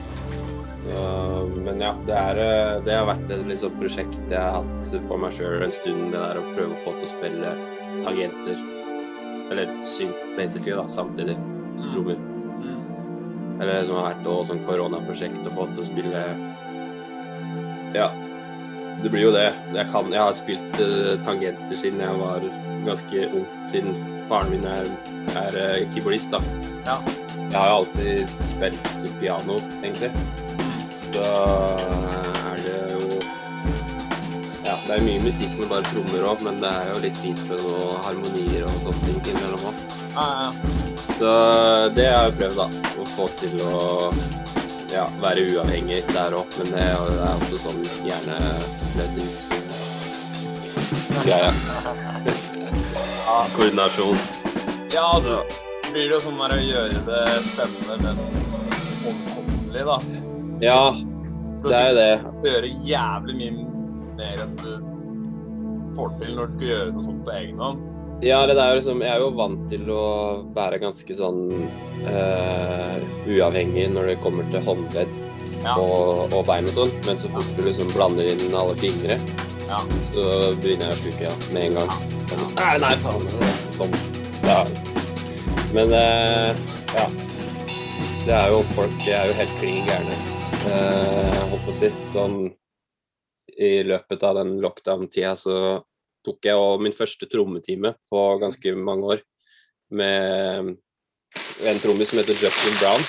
Speaker 1: Men ja, det har vært et liksom prosjekt jeg har hatt for meg selv en stund, det der å prøve å få til å spille tangenter, eller synt basically da, samtidig, som trommer. Eller som har vært også sånn koronaprosjekt å få til å spille, ja, det blir jo det. Jeg har spilt tangenter siden jeg var ganske ung, siden faren min er keyboardist da.
Speaker 2: Ja.
Speaker 1: Jeg har jo alltid spilt piano, egentlig. Så det jo... Ja, det mye musikk med bare trommer også, men det jo litt fint med noen harmonier og sånne ting innimellom også.
Speaker 2: Ja.
Speaker 1: Så det har jeg prøvd da, å få til å være uavhengig der også, men det også sånn hjernelødningsgreie. Koordinasjon.
Speaker 2: Ja, altså, blir det jo sånn å gjøre det spennende, men omkommelig da.
Speaker 1: Ja, det det.
Speaker 2: Du gjør jævlig mye mer enn du får til når du skal gjøre noe sånt på egen hånd.
Speaker 1: Ja, det liksom, jeg jo vant til å være ganske sånn uavhengig når det kommer til håndledd og bein og sånn, men så fort du liksom blander inn alle fingre, så begynner jeg å sluke med en gang. Nei, faen, sånn. Ja. Men ja, det jo folk, det jo helt klin gærne. Holdt på å si, sånn i løpet av den lockdown-tida så tok jeg også min første trommetime på ganske mange år med en trommis som heter Justin Brown.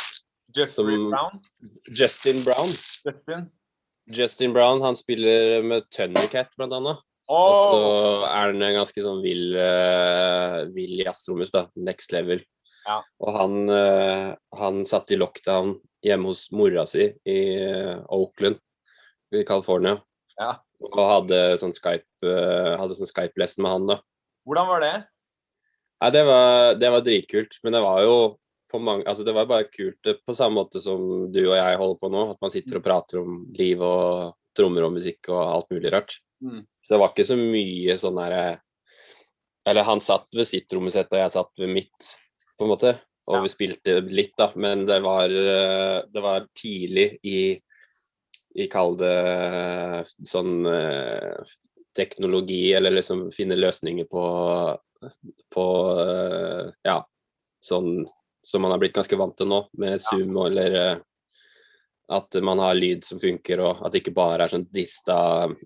Speaker 1: Justin Brown, han spiller med Thundercat blant annet. Og så han en ganske sånn vill jazztrommis da, next level.
Speaker 2: Ja. Og
Speaker 1: han satt i lockdown hjemme hos mora si i Oakland i California.
Speaker 2: Ja.
Speaker 1: Og hadde sånn Skype-lesson med han da.
Speaker 2: Hvordan var det?
Speaker 1: Nei, det var dritkult, men det var jo på mange, altså det var bare kult på samme måte som du og jeg holder på nå, at man sitter og prater om liv og trommer og musikk og alt mulig rart. Så det var ikke så mye sånn der, eller han satt ved sitt trommesett og jeg satt ved mitt, på en måte, og vi spilte litt da, men det var tidlig i kall det sånn teknologi, eller liksom finne løsninger på sånn som man har blitt ganske vant til nå, med Zoom, eller at man har lyd som funker, og at det ikke bare sånn dista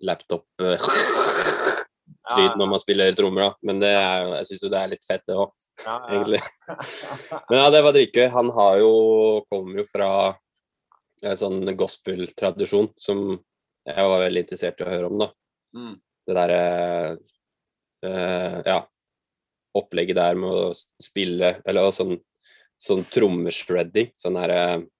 Speaker 1: laptop-lyd når man spiller trommer da, men jeg synes jo det litt fett det også, egentlig. Men ja, det var dritgøy. Han kommer jo fra sånn gospel-tradisjon som jeg var veldig interessert i å høre om da. Det der opplegget der med å spille, eller sånn trommeshredding, sånn der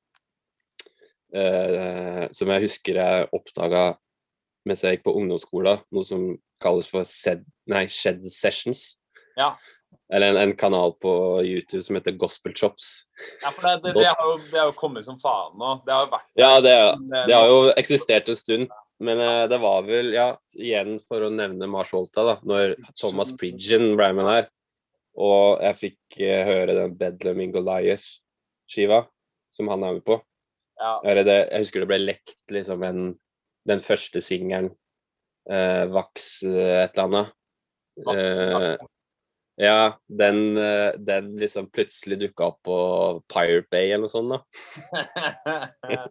Speaker 1: som jeg husker jeg oppdaget mens jeg gikk på ungdomsskolen, noe som kalles for shed sessions.
Speaker 2: Ja.
Speaker 1: Eller en kanal på YouTube som heter Gospel Chops.
Speaker 2: Ja, for det har jo kommet som faen nå. Det har jo vært
Speaker 1: Ja, det har jo eksistert en stund. Men det var vel, ja, igjen for å nevne Mars Volta da, når Thomas Pridgen ble med der, og jeg fikk høre den Bedlam in Goliath-skiva, som han er med på.
Speaker 2: Ja.
Speaker 1: Jeg husker det ble lekt, liksom, den første singelen, Vax et eller annet. Ja, den liksom plutselig dukket opp på Pirate Bay eller noe sånt da.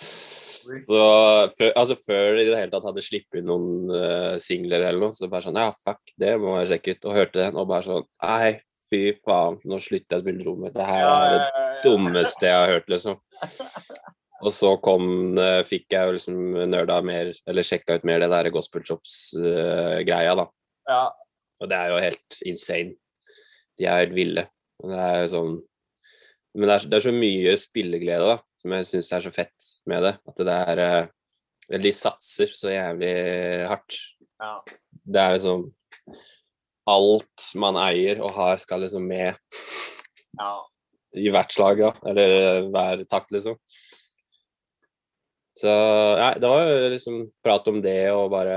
Speaker 1: Så før de i det hele tatt hadde slippet noen singler eller noe, så bare sånn, ja, fuck, det må jeg sjekke ut, og hørte den, og bare sånn, nei, fy faen, nå slutter jeg å spille trommer, det her er det dummeste jeg har hørt, liksom. Og så fikk jeg jo liksom nørda mer, eller sjekket ut mer det der Gospel Chops-greia da.
Speaker 2: Ja.
Speaker 1: Og det er jo helt insane. De er helt ville. Og det er sånn, men det er så mye spilleglede da, som jeg synes er så fett med det. At det er de satser så jævlig hardt.
Speaker 2: Ja.
Speaker 1: Det er liksom alt man eier og har skal liksom med i hvert slag, ja. Eller hver takt, liksom. Så ja, det var jo liksom prat om det og bare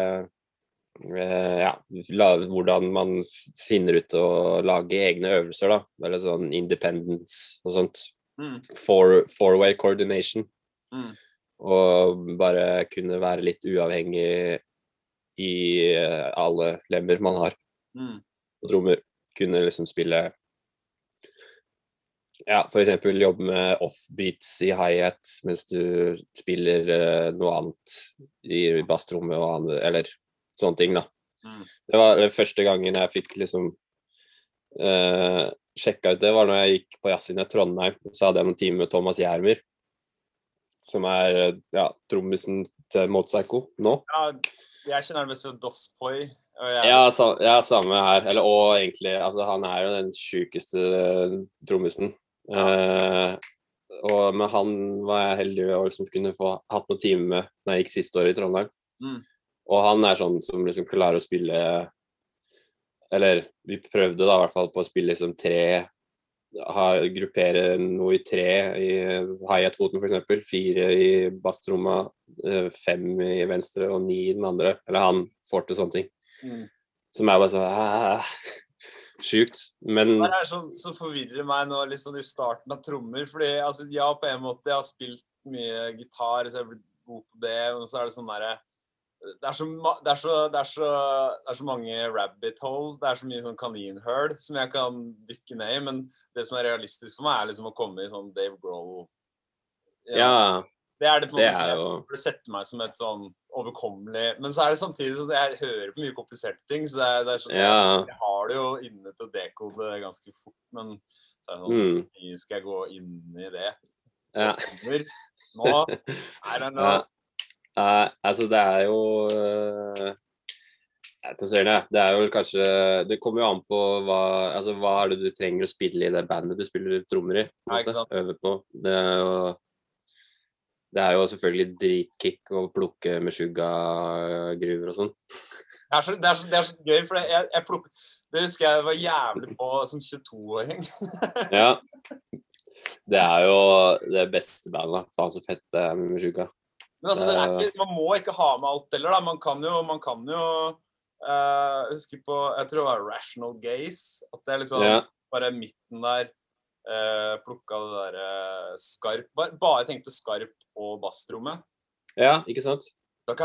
Speaker 1: hvordan man finner ut å lage egne øvelser da, eller sånn independence og sånt, four-way coordination, og bare kunne være litt uavhengig i alle lemmer man har, og trommer, kunne liksom spille, for eksempel jobbe med off-beats i hi-hat, mens du spiller noe annet i bassrommet og andre, eller sånne ting da. Det var første gangen jeg fikk liksom sjekket ut det, var når jeg gikk på Jazzin i Trondheim, så hadde jeg noen timer med Thomas Gjermyr, som er trommisen til Motorpsycho nå.
Speaker 2: Ja, jeg kjenner det mest for Dovspoi.
Speaker 1: Ja, samme her, og egentlig, altså han er jo den sykeste trommisen. Men han var jeg heldig å liksom kunne få hatt noen timer med når jeg gikk siste år i Trondheim. Og han er sånn som liksom klarer å spille, eller vi prøvde da i hvert fall på å spille liksom gruppere noe i 3 i hi-hat-foten for eksempel, 4 i basstromma, 5 i venstre og 9 i den andre, eller han får til sånne ting. Som er bare sånn, sjukt, men...
Speaker 2: Det er sånn som forvirrer meg nå litt sånn i starten av trommer, fordi altså, på en måte jeg har spilt mye gitar, så jeg har blitt god på det, og så er det sånn der... Det er så mange rabbit holes, det er så mye sånn kaninhøl som jeg kan dykke ned i, men det som er realistisk for meg er liksom å komme i sånn Dave Grohl.
Speaker 1: Ja,
Speaker 2: det er det på
Speaker 1: det er jo...
Speaker 2: Det setter meg som et sånn overkommelig, men så er det samtidig sånn at jeg hører på mye kompliserte ting, så det er sånn, jeg har det jo inne til å dekode ganske fort, men så er det sånn, skal jeg gå inn i det?
Speaker 1: Ja.
Speaker 2: Nå, I don't know.
Speaker 1: Altså det er jo det er jo kanskje, det kommer jo an på hva er det du trenger å spille i det bandet du spiller trommer i, øve på. Det er jo selvfølgelig dritkick å plukke med Meshuggah-gruver og sånn.
Speaker 2: Det er så gøy, for det husker jeg var jævlig på som 22-åring.
Speaker 1: Ja, det er jo det beste bandet, faen så fett det er med Meshuggah.
Speaker 2: Men altså, man må ikke ha med alt heller da, man kan jo huske på, jeg tror det var Rational Gaze, at det er liksom bare midten der, plukket det der skarp, bare tenkte skarp og basstrommet.
Speaker 1: Ja, ikke sant? Og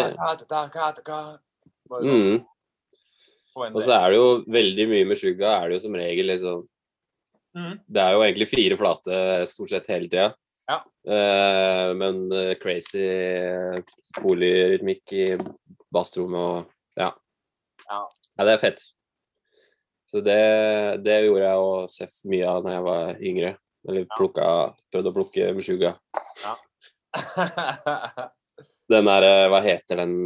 Speaker 1: så er det jo veldig mye med Meshuggah, er det jo som regel liksom, det er jo egentlig 4 flate stort sett hele tiden.
Speaker 2: Ja.
Speaker 1: Men crazy polyrytmikk i bassrommet og ja, det er fett. Så det gjorde jeg å se mye av når jeg var yngre, eller prøvde å plukke Meshuggah.
Speaker 2: Ja.
Speaker 1: Den der, hva heter den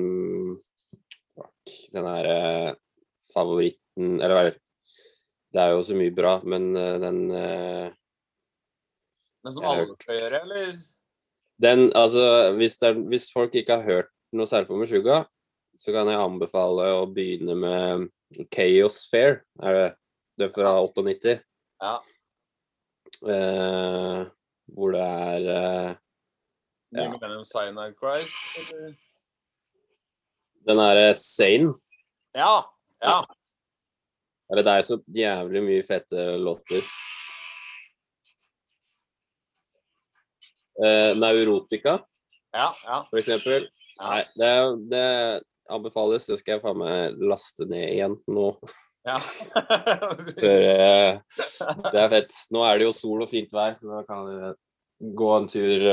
Speaker 1: der favoritten, eller hva er det? Det er jo så mye bra, men den...
Speaker 2: Men som alle skal gjøre, eller?
Speaker 1: Den, altså, hvis folk ikke har hørt noe særlig på Meshuggah, så kan jeg anbefale å begynne med Chaos Fair, er det? Det er fra 98.
Speaker 2: Ja.
Speaker 1: Hvor det
Speaker 2: New Millennium Cyanide Christ, eller?
Speaker 1: den Sane.
Speaker 2: Ja.
Speaker 1: Det er så jævlig mye fette låter. Neurotica,
Speaker 2: Ja.
Speaker 1: for eksempel.
Speaker 2: Ja.
Speaker 1: Nei, det anbefales. Det skal jeg faen meg laste ned igjen nå.
Speaker 2: Ja.
Speaker 1: Det er fett. Nå er det jo sol og fint vær, så da kan vi gå en tur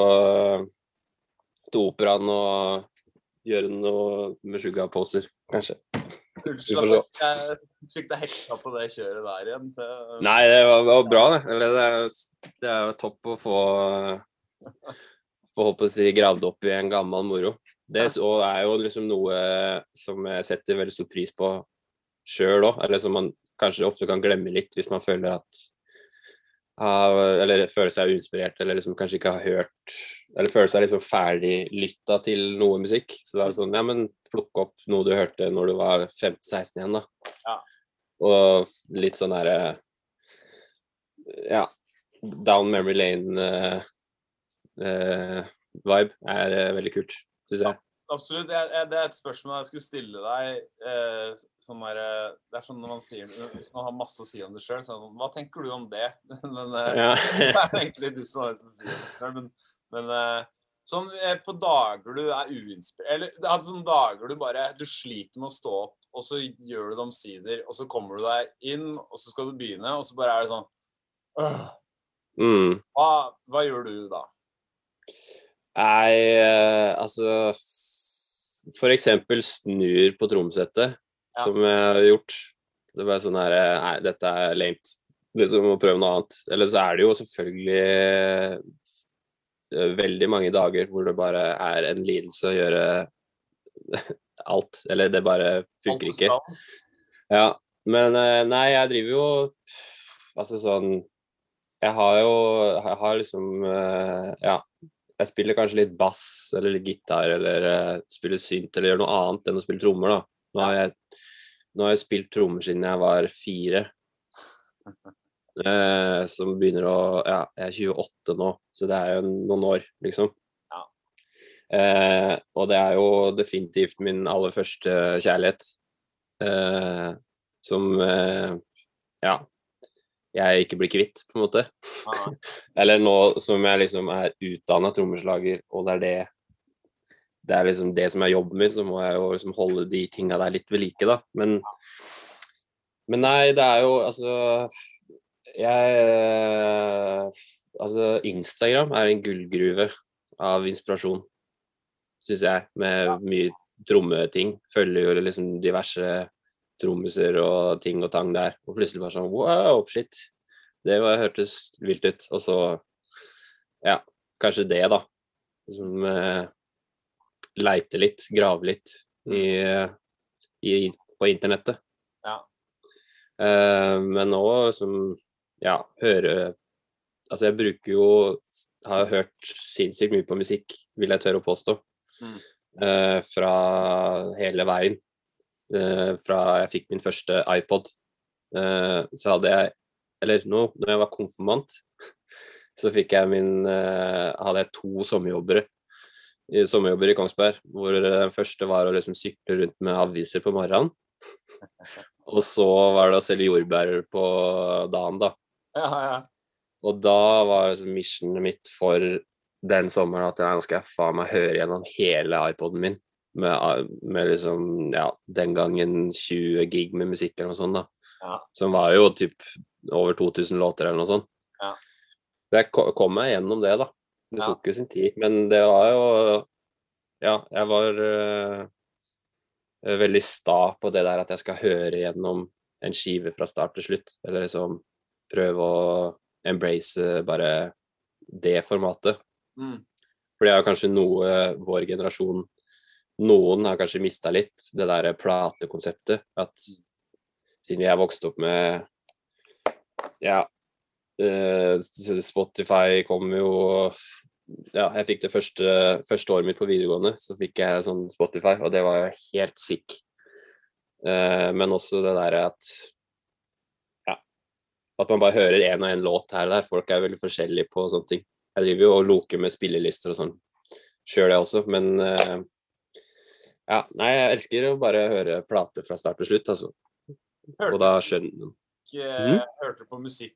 Speaker 1: til operaen og gjøre noe med sugarposer, kanskje.
Speaker 2: Jeg fikk deg hekta på det kjøret der igjen.
Speaker 1: Nei, det var bra, det. Eller det er jo topp å få håpe å si gravd opp i en gammel moro. Det er jo liksom noe som jeg setter veldig stor pris på selv også, eller som man kanskje ofte kan glemme litt hvis man føler at eller føler seg uinspirert, eller liksom kanskje ikke har hørt, eller føler seg liksom ferdig lyttet til noe musikk. Så det er sånn, ja, men plukk opp noe du hørte når du var 15-16 igjen da.
Speaker 2: Ja. Og
Speaker 1: litt sånn ja, down memory lane vibe veldig kult, synes jeg.
Speaker 2: Absolutt, det er et spørsmål jeg skulle stille deg, sånn det er sånn når man har masse å si om det selv, så sånn, hva tenker du om det? Men
Speaker 1: Ja.
Speaker 2: det er egentlig du som har å si om det, men sånn på dager du uinspirert, eller det er sånne dager du sliter med å stå opp, og så gjør du det omsider, og så kommer du deg inn, og så skal du begynne, og så bare det sånn, hva gjør du da?
Speaker 1: Nei, altså for eksempel snur på tromsettet, som jeg har gjort. Det er bare sånn nei, dette lame, liksom å prøve noe annet. Eller så det jo selvfølgelig veldig mange dager hvor det bare en lidelse å gjøre alt, eller det bare funker ikke. Ja, men nei, jeg driver jo, altså sånn, jeg har liksom, ja, jeg spiller kanskje litt bass, eller litt gitar, eller spiller synt, eller gjør noe annet enn å spille trommer da. Nå har jeg spilt trommer siden jeg var 4. Som begynner ja, jeg er 28 nå, så det jo noen år, liksom.
Speaker 2: Ja.
Speaker 1: Og det jo definitivt min aller første kjærlighet. Som, ja, jeg ikke blir kvitt, på en måte. Eller nå som jeg liksom utdannet trommeslager, og det liksom det som jobben min, så må jeg jo liksom holde de tingene der litt ved like, da. Men nei, det jo, altså, altså, Instagram en gullgruve av inspirasjon, synes jeg, med mye trommeting. Følger jo liksom diverse trommiser og ting og tang der, og plutselig bare sånn, wow, shit, det hørtes vilt ut, og så, ja, kanskje det da, som leite litt, grave litt på internettet.
Speaker 2: Ja.
Speaker 1: Men nå som, ja, altså jeg bruker jo, har hørt sinnssykt mye på musikk, vil jeg tørre å påstå, fra hele veien. Fra jeg fikk min første iPod, så hadde jeg, eller når jeg var konfirmant, så fikk jeg hadde jeg 2 sommerjobber i Kongsberg, hvor den første var å liksom sykle rundt med aviser på morgenen, og så var det å selge jordbær på dagen da.
Speaker 2: Ja.
Speaker 1: Og da var liksom missionet mitt for den sommeren at nå skal jeg faen meg høre gjennom hele iPoden min, med liksom, ja, den gangen 20 gig med musikk eller noe sånt da, som var jo typ over 2000 låter eller noe sånt.
Speaker 2: Ja.
Speaker 1: Så jeg kom meg gjennom det da, det tok jo sin tid, men det var jo, ja, jeg var veldig sta på det der at jeg skal høre gjennom en skive fra start til slutt, eller liksom prøve å embrace bare det formatet. For det kanskje noe vår generasjon, noen har kanskje mistet litt det der platekonseptet, at siden jeg vokste opp med, ja, Spotify kom jo, ja, jeg fikk det første året mitt på videregående, så fikk jeg sånn Spotify, og det var jo helt sick. Men også det der at at man bare hører en og en låt her og der. Folk veldig forskjellige på sånne ting. Jeg driver jo og loker med spillelister og sånn. Selv det også, men ja, nei, jeg elsker å bare høre plater fra start til slutt, altså. Og da skjønner
Speaker 2: Hørte du på musikk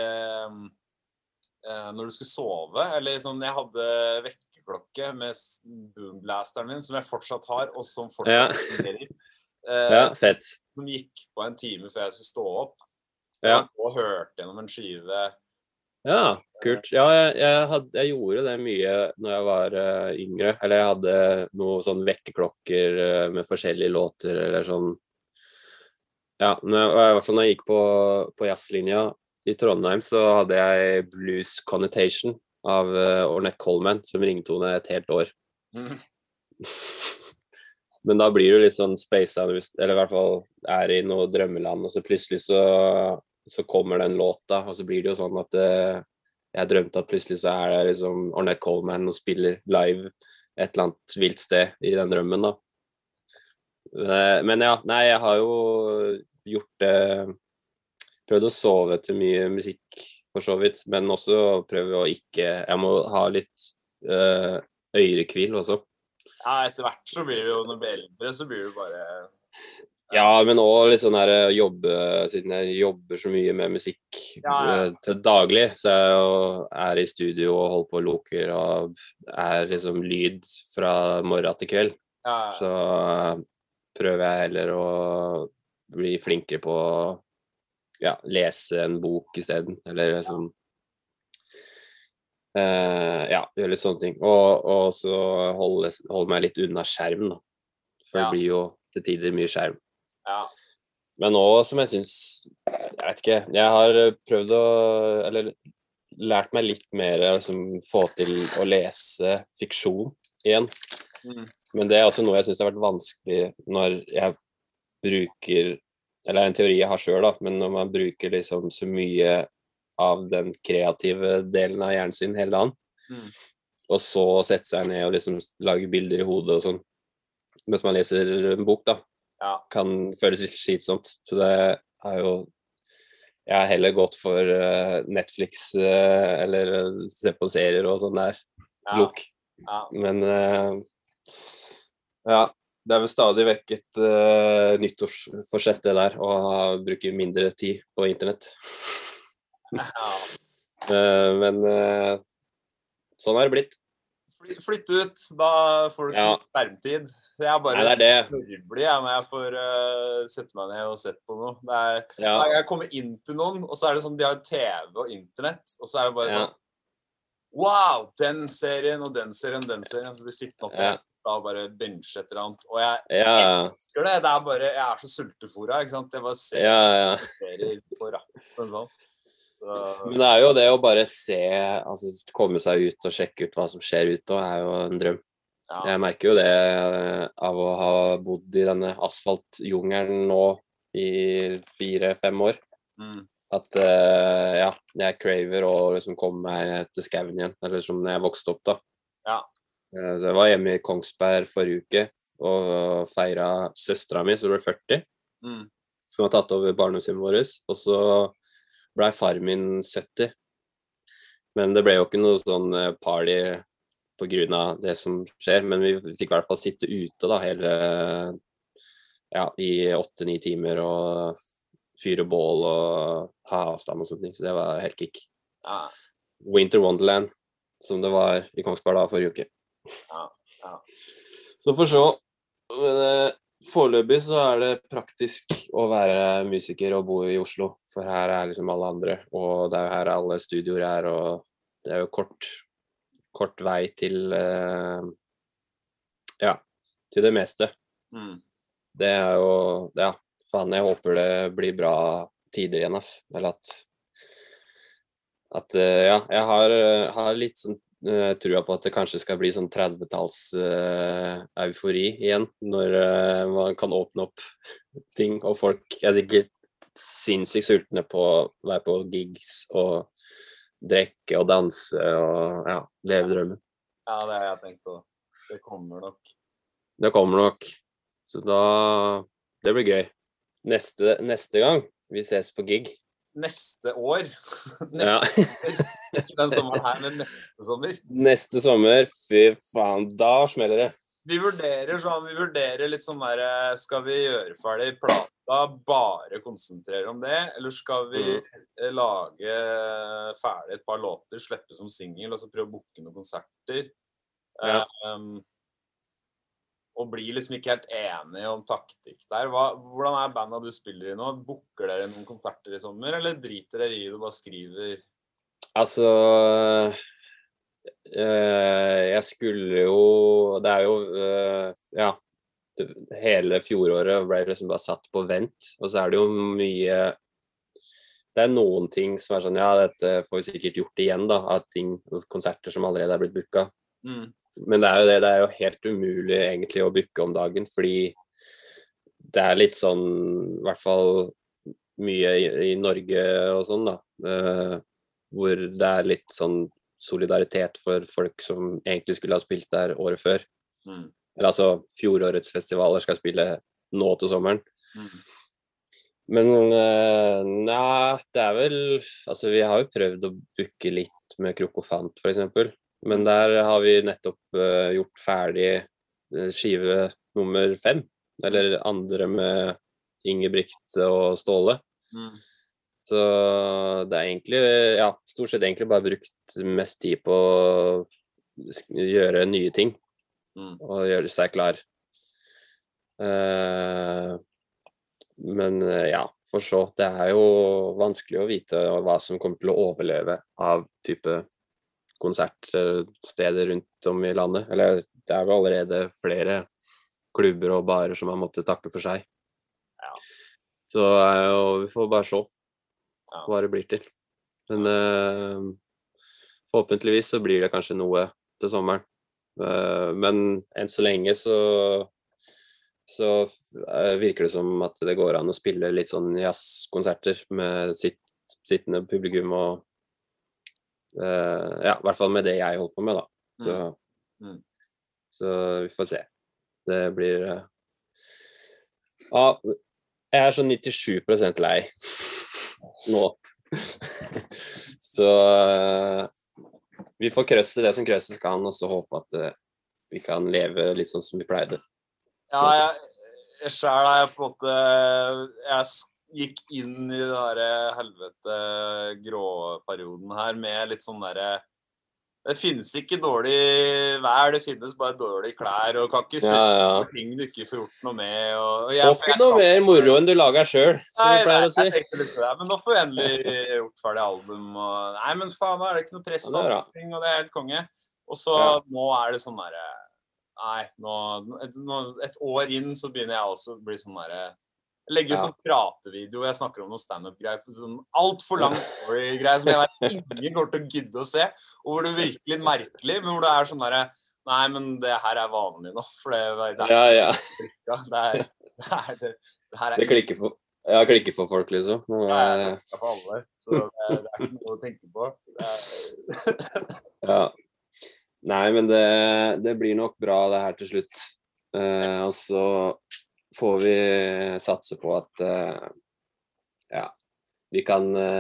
Speaker 2: når du skulle sove? Eller sånn, jeg hadde vekkerklokke med boomblasteren min, som jeg fortsatt har, og som fortsatt fungerer.
Speaker 1: Ja, fett.
Speaker 2: Som gikk på en time før jeg skulle stå opp.
Speaker 1: Ja.
Speaker 2: Og hørte gjennom en skive.
Speaker 1: Ja, kult. Ja, jeg gjorde det mye når jeg var yngre. Eller jeg hadde noen sånn vekkerklokker med forskjellige låter, eller sånn. Ja, i hvert fall når jeg gikk på jazzlinja i Trondheim, så hadde jeg Blues Connotation av Ornette Coleman, som ringtone et helt år. Men da blir du litt sånn spacet, eller i hvert fall i noe drømmeland, og så plutselig så kommer den låta, og så blir det jo sånn at jeg drømte at plutselig så det liksom Ornette Coleman og spiller live et eller annet vilt sted i den drømmen da. Men ja, nei, jeg har jo gjort prøvd å sove til mye musikk for så vidt, men også prøve å jeg må ha litt ørekvil også.
Speaker 2: Ja, etter hvert så blir det jo, når du blir eldre, så blir det bare...
Speaker 1: Ja, men også litt sånn her siden jeg jobber så mye med musikk til daglig, så jeg i studio og holder på og loker, og liksom lyd fra morgen til kveld. Så prøver jeg heller å bli flinkere på å lese en bok i stedet, eller sånn. Gjøre litt sånne ting. Og så holde meg litt unna skjerm, da. For det blir jo til tider mye skjerm.
Speaker 2: Ja.
Speaker 1: Men nå som jeg synes, jeg vet ikke, jeg har prøvd eller lært meg litt mer liksom, få til å lese fiksjon igjen. Men det også noe jeg synes har vært vanskelig når jeg bruker, eller en teori jeg har selv da, men når man bruker liksom så mye av den kreative delen av hjernen sin hele dagen, og så sette seg ned og liksom lage bilder i hodet og sånn, mens man leser en bok da, kan føles litt slitsomt. Så det jo jeg har heller gått for Netflix eller se på serier og sånn der lok. Men det vel stadig vekk et nyttårsforsett det der, å bruke mindre tid på internett. Men sånn det blitt.
Speaker 2: Flytt ut, da får du ikke sånn skjermtid. Jeg bare snurrblig når jeg får sette meg ned og sett på noe. Jeg kommer inn til noen, og så det sånn, de har TV og internett, og så det bare sånn, wow, den serien og den serien, så blir stilt opp da bare benche et eller annet, og jeg elsker det, bare, jeg så sultefora, ikke sant? Jeg bare ser serier på rappen sånn.
Speaker 1: Men det jo det å bare se, altså komme seg ut og sjekke ut hva som skjer ute, og jo en drøm. Jeg merker jo det av å ha bodd i denne asfaltjungelen nå i 4-5 år. At jeg craver å liksom komme meg til skauen igjen, eller som når jeg vokste opp da. Så jeg var hjemme i Kongsberg forrige uke og feiret søstera mi, som ble 40, som har tatt over barndomshjemmet vårt, og så ble far min 70, men det ble jo ikke noe sånn party på grunn av det som skjer, men vi fikk i hvert fall sitte ute da hele, i 8-9 timer og fyre bål og ha avstand og sånne ting, så det var helt kick. Winter Wonderland, som det var i Kongsberg da forrige uke. Så for så, foreløpig så det praktisk å være musiker og bo i Oslo, for her liksom alle andre, og det jo her alle studioer og det jo kort vei til til det meste. Det jo, faen, jeg håper det blir bra tider igjen, ass. Eller at jeg har litt sånn trua på at det kanskje skal bli sånn 30-talls eufori igjen, når man kan åpne opp ting, og folk sikkert sinnssykt sultne på å være på gigs og drekke og danse og leve drømmen.
Speaker 2: Ja, det har jeg tenkt på. Det kommer
Speaker 1: nok. Så da, det blir gøy. Neste gang vi ses på gig,
Speaker 2: neste år.
Speaker 1: Ja.
Speaker 2: Ikke den sommeren her, men neste sommer.
Speaker 1: Neste sommer, fy faen, da smeller det.
Speaker 2: Vi vurderer litt sånn der, skal vi gjøre ferdig plata, bare konsentrere om det, eller skal vi lage ferdig et par låter, slippe som single, og så prøve å booke noen konserter.
Speaker 1: Ja.
Speaker 2: Og blir liksom ikke helt enige om taktikk der. Hvordan bandet du spiller i nå? Booker dere noen konserter i sommer, eller driter dere i det og bare skriver?
Speaker 1: Altså, jeg skulle jo, det jo, ja, hele fjoråret ble liksom bare satt på vent, og så det jo mye, det noen ting som sånn, ja, dette får vi sikkert gjort igjen da, av ting, konserter som allerede blitt booket. Men det jo det, det jo helt umulig egentlig å booke om dagen, fordi det litt sånn, i hvert fall mye i Norge og sånn da, hvor det litt sånn solidaritet for folk som egentlig skulle ha spilt der året før. Eller altså, fjorårets festivaler skal spille nå til sommeren. Men nei, det vel, altså vi har jo prøvd å booke litt med Krokofant for eksempel, men der har vi nettopp gjort ferdig skive nummer 5, eller andre med Ingebrigt og Ståle. Så det egentlig, ja, stort sett egentlig bare brukt mest tid på å gjøre nye ting og gjøre seg klar. Men ja, for så, det jo vanskelig å vite hva som kommer til å overleve av type konsertsteder rundt om i landet. Eller det jo allerede flere klubber og barer som har måttet takke for seg. Så vi får bare se hva det blir til. Men forhåpentligvis så blir det kanskje noe til sommeren. Men enn så lenge så virker det som at det går an å spille litt sånn jazzkonserter med sittende publikum og ja, i hvert fall med det jeg holder på med da. Så vi får se. Det blir ja, jeg sånn 97% lei nå. Så vi får krøsse det som krøsses kan, og så håpe at vi kan leve litt sånn som vi pleide.
Speaker 2: Ja, jeg selv jeg på en måte, jeg gikk inn i den der helvete gråperioden her med litt sånn der, det finnes ikke dårlig vær, det finnes bare dårlige klær, og kan ikke se ting du ikke får gjort noe med. Og
Speaker 1: ikke noe mer moro enn du lager selv, som vi pleier å si.
Speaker 2: Nei, jeg tenkte litt på det, men nå får vi endelig gjort ferdig album. Og, nei, men faen, nå det ikke noe press på ting, og det helt konge. Og så nå det sånn der, nei, nå, et år inn så begynner jeg også å bli sånn der, jeg legger jo sånn pratevideo, jeg snakker om noen stand-up-greier, sånn alt for lang story-greier som jeg vet ingen går til å gidde å se, og hvor det virker litt merkelig, men hvor det sånn der, nei, men det her vanlig nå, for det
Speaker 1: det klikker for folk, liksom.
Speaker 2: Det klikker for alle, så det ikke noe å tenke på.
Speaker 1: Ja. Nei, men det blir nok bra det her til slutt. Og så får vi satse på at ja, vi kan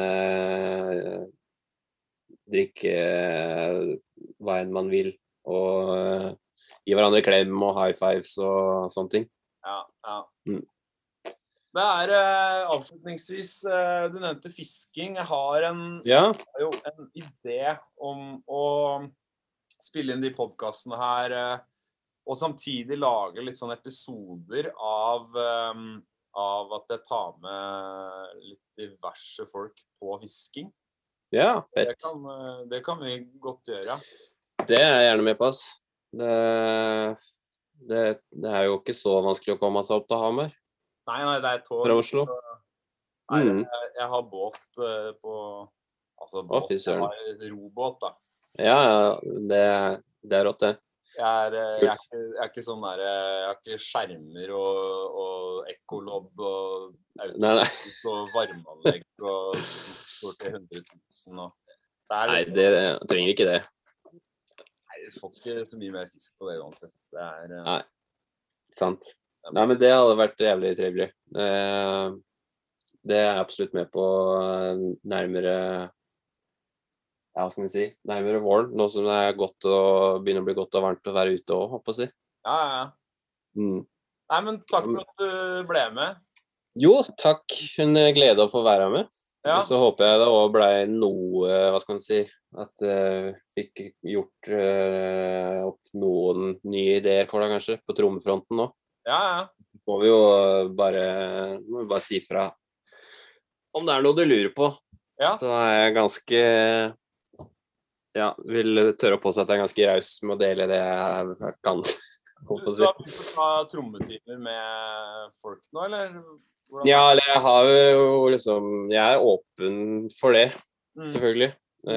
Speaker 1: drikke hva enn man vil, og gi hverandre klem og high fives og sånne ting.
Speaker 2: Ja. Det avslutningsvis, du nevnte fisking. Jeg har jo en idé om å spille inn de podcastene her, og samtidig lage litt sånne episoder av at jeg tar med litt diverse folk på fisking.
Speaker 1: Ja, fett.
Speaker 2: Det kan vi godt gjøre.
Speaker 1: Det jeg gjerne med på, ass. Det jo ikke så vanskelig å komme seg opp til Hamar.
Speaker 2: Nei, det tog.
Speaker 1: Fra Oslo.
Speaker 2: Nei, jeg har båt på, altså båt, jeg har robåt da. Ja,
Speaker 1: det rått det.
Speaker 2: Jeg ikke sånn der, jeg har ikke skjermer og ekkolodd og automatisk og varmeanlegg og stort til 100 000 og
Speaker 1: nei, det trenger ikke det.
Speaker 2: Nei, du får ikke så mye mer fisk på det uansett.
Speaker 1: Nei, sant. Nei, men det hadde vært jævlig trivelig. Det er jeg absolutt med på nærmere, ja, hva skal vi si, nærmere våren, nå som det er godt begynner å bli godt og varmt å være ute også, håper jeg å si.
Speaker 2: Ja. Nei, men takk for at du ble med.
Speaker 1: Jo, takk. En glede å få være med.
Speaker 2: Ja.
Speaker 1: Så håper jeg det også ble noe, hva skal man si, at fikk gjort opp noen nye ideer for deg kanskje, på trommefronten nå.
Speaker 2: Ja.
Speaker 1: Må vi jo bare si fra om det er noe du lurer på.
Speaker 2: Ja.
Speaker 1: Så er jeg ganske, ja, vil tørre å påstå at jeg er ganske raus med å dele det jeg kan.
Speaker 2: Du har begynt å ta trommetimer med folk nå, eller? Hvordan?
Speaker 1: Ja, eller jeg har jo liksom, jeg er åpen for det, selvfølgelig.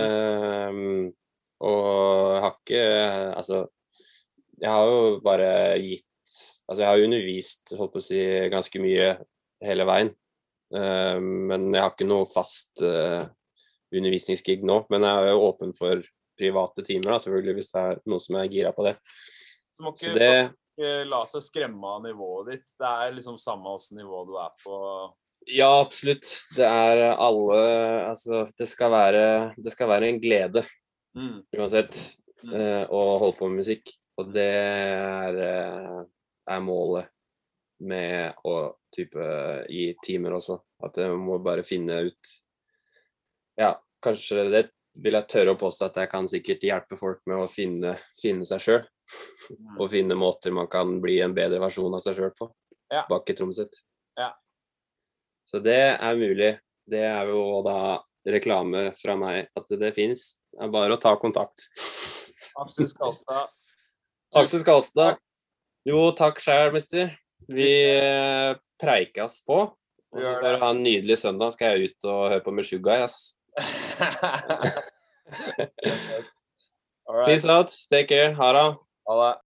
Speaker 1: Og jeg har ikke, altså, jeg har jo bare gitt, altså jeg har undervist, holdt på å si, ganske mye hele veien. Men jeg har ikke noe fast undervisningsgig nå, men jeg er jo åpen for private timer da, selvfølgelig, hvis det er noe som er gira på det.
Speaker 2: Så må ikke la seg skremme av nivået ditt. Det er liksom samme hvordan nivå du er på.
Speaker 1: Ja, absolutt. Det er alle, altså, det skal være en glede, uansett, å holde på med musikk. Og det er målet med å type i timer også, at jeg må bare finne ut, ja, kanskje det vil jeg tørre å påstå at jeg kan sikkert hjelpe folk med å finne seg selv, og finne måter man kan bli en bedre versjon av seg selv på, bak i trommet sitt.
Speaker 2: Ja.
Speaker 1: Så det er mulig. Det er jo da reklame fra meg at det finnes. Det er bare å ta kontakt.
Speaker 2: Aksel Skalstad.
Speaker 1: Aksel Skalstad. Jo, takk selv, mister. Vi preikas på. Og så får du ha en nydelig søndag. Skal jeg ut og høre på Meshuggah, ass. Peace out. Take care. Ha det.
Speaker 2: Ha det.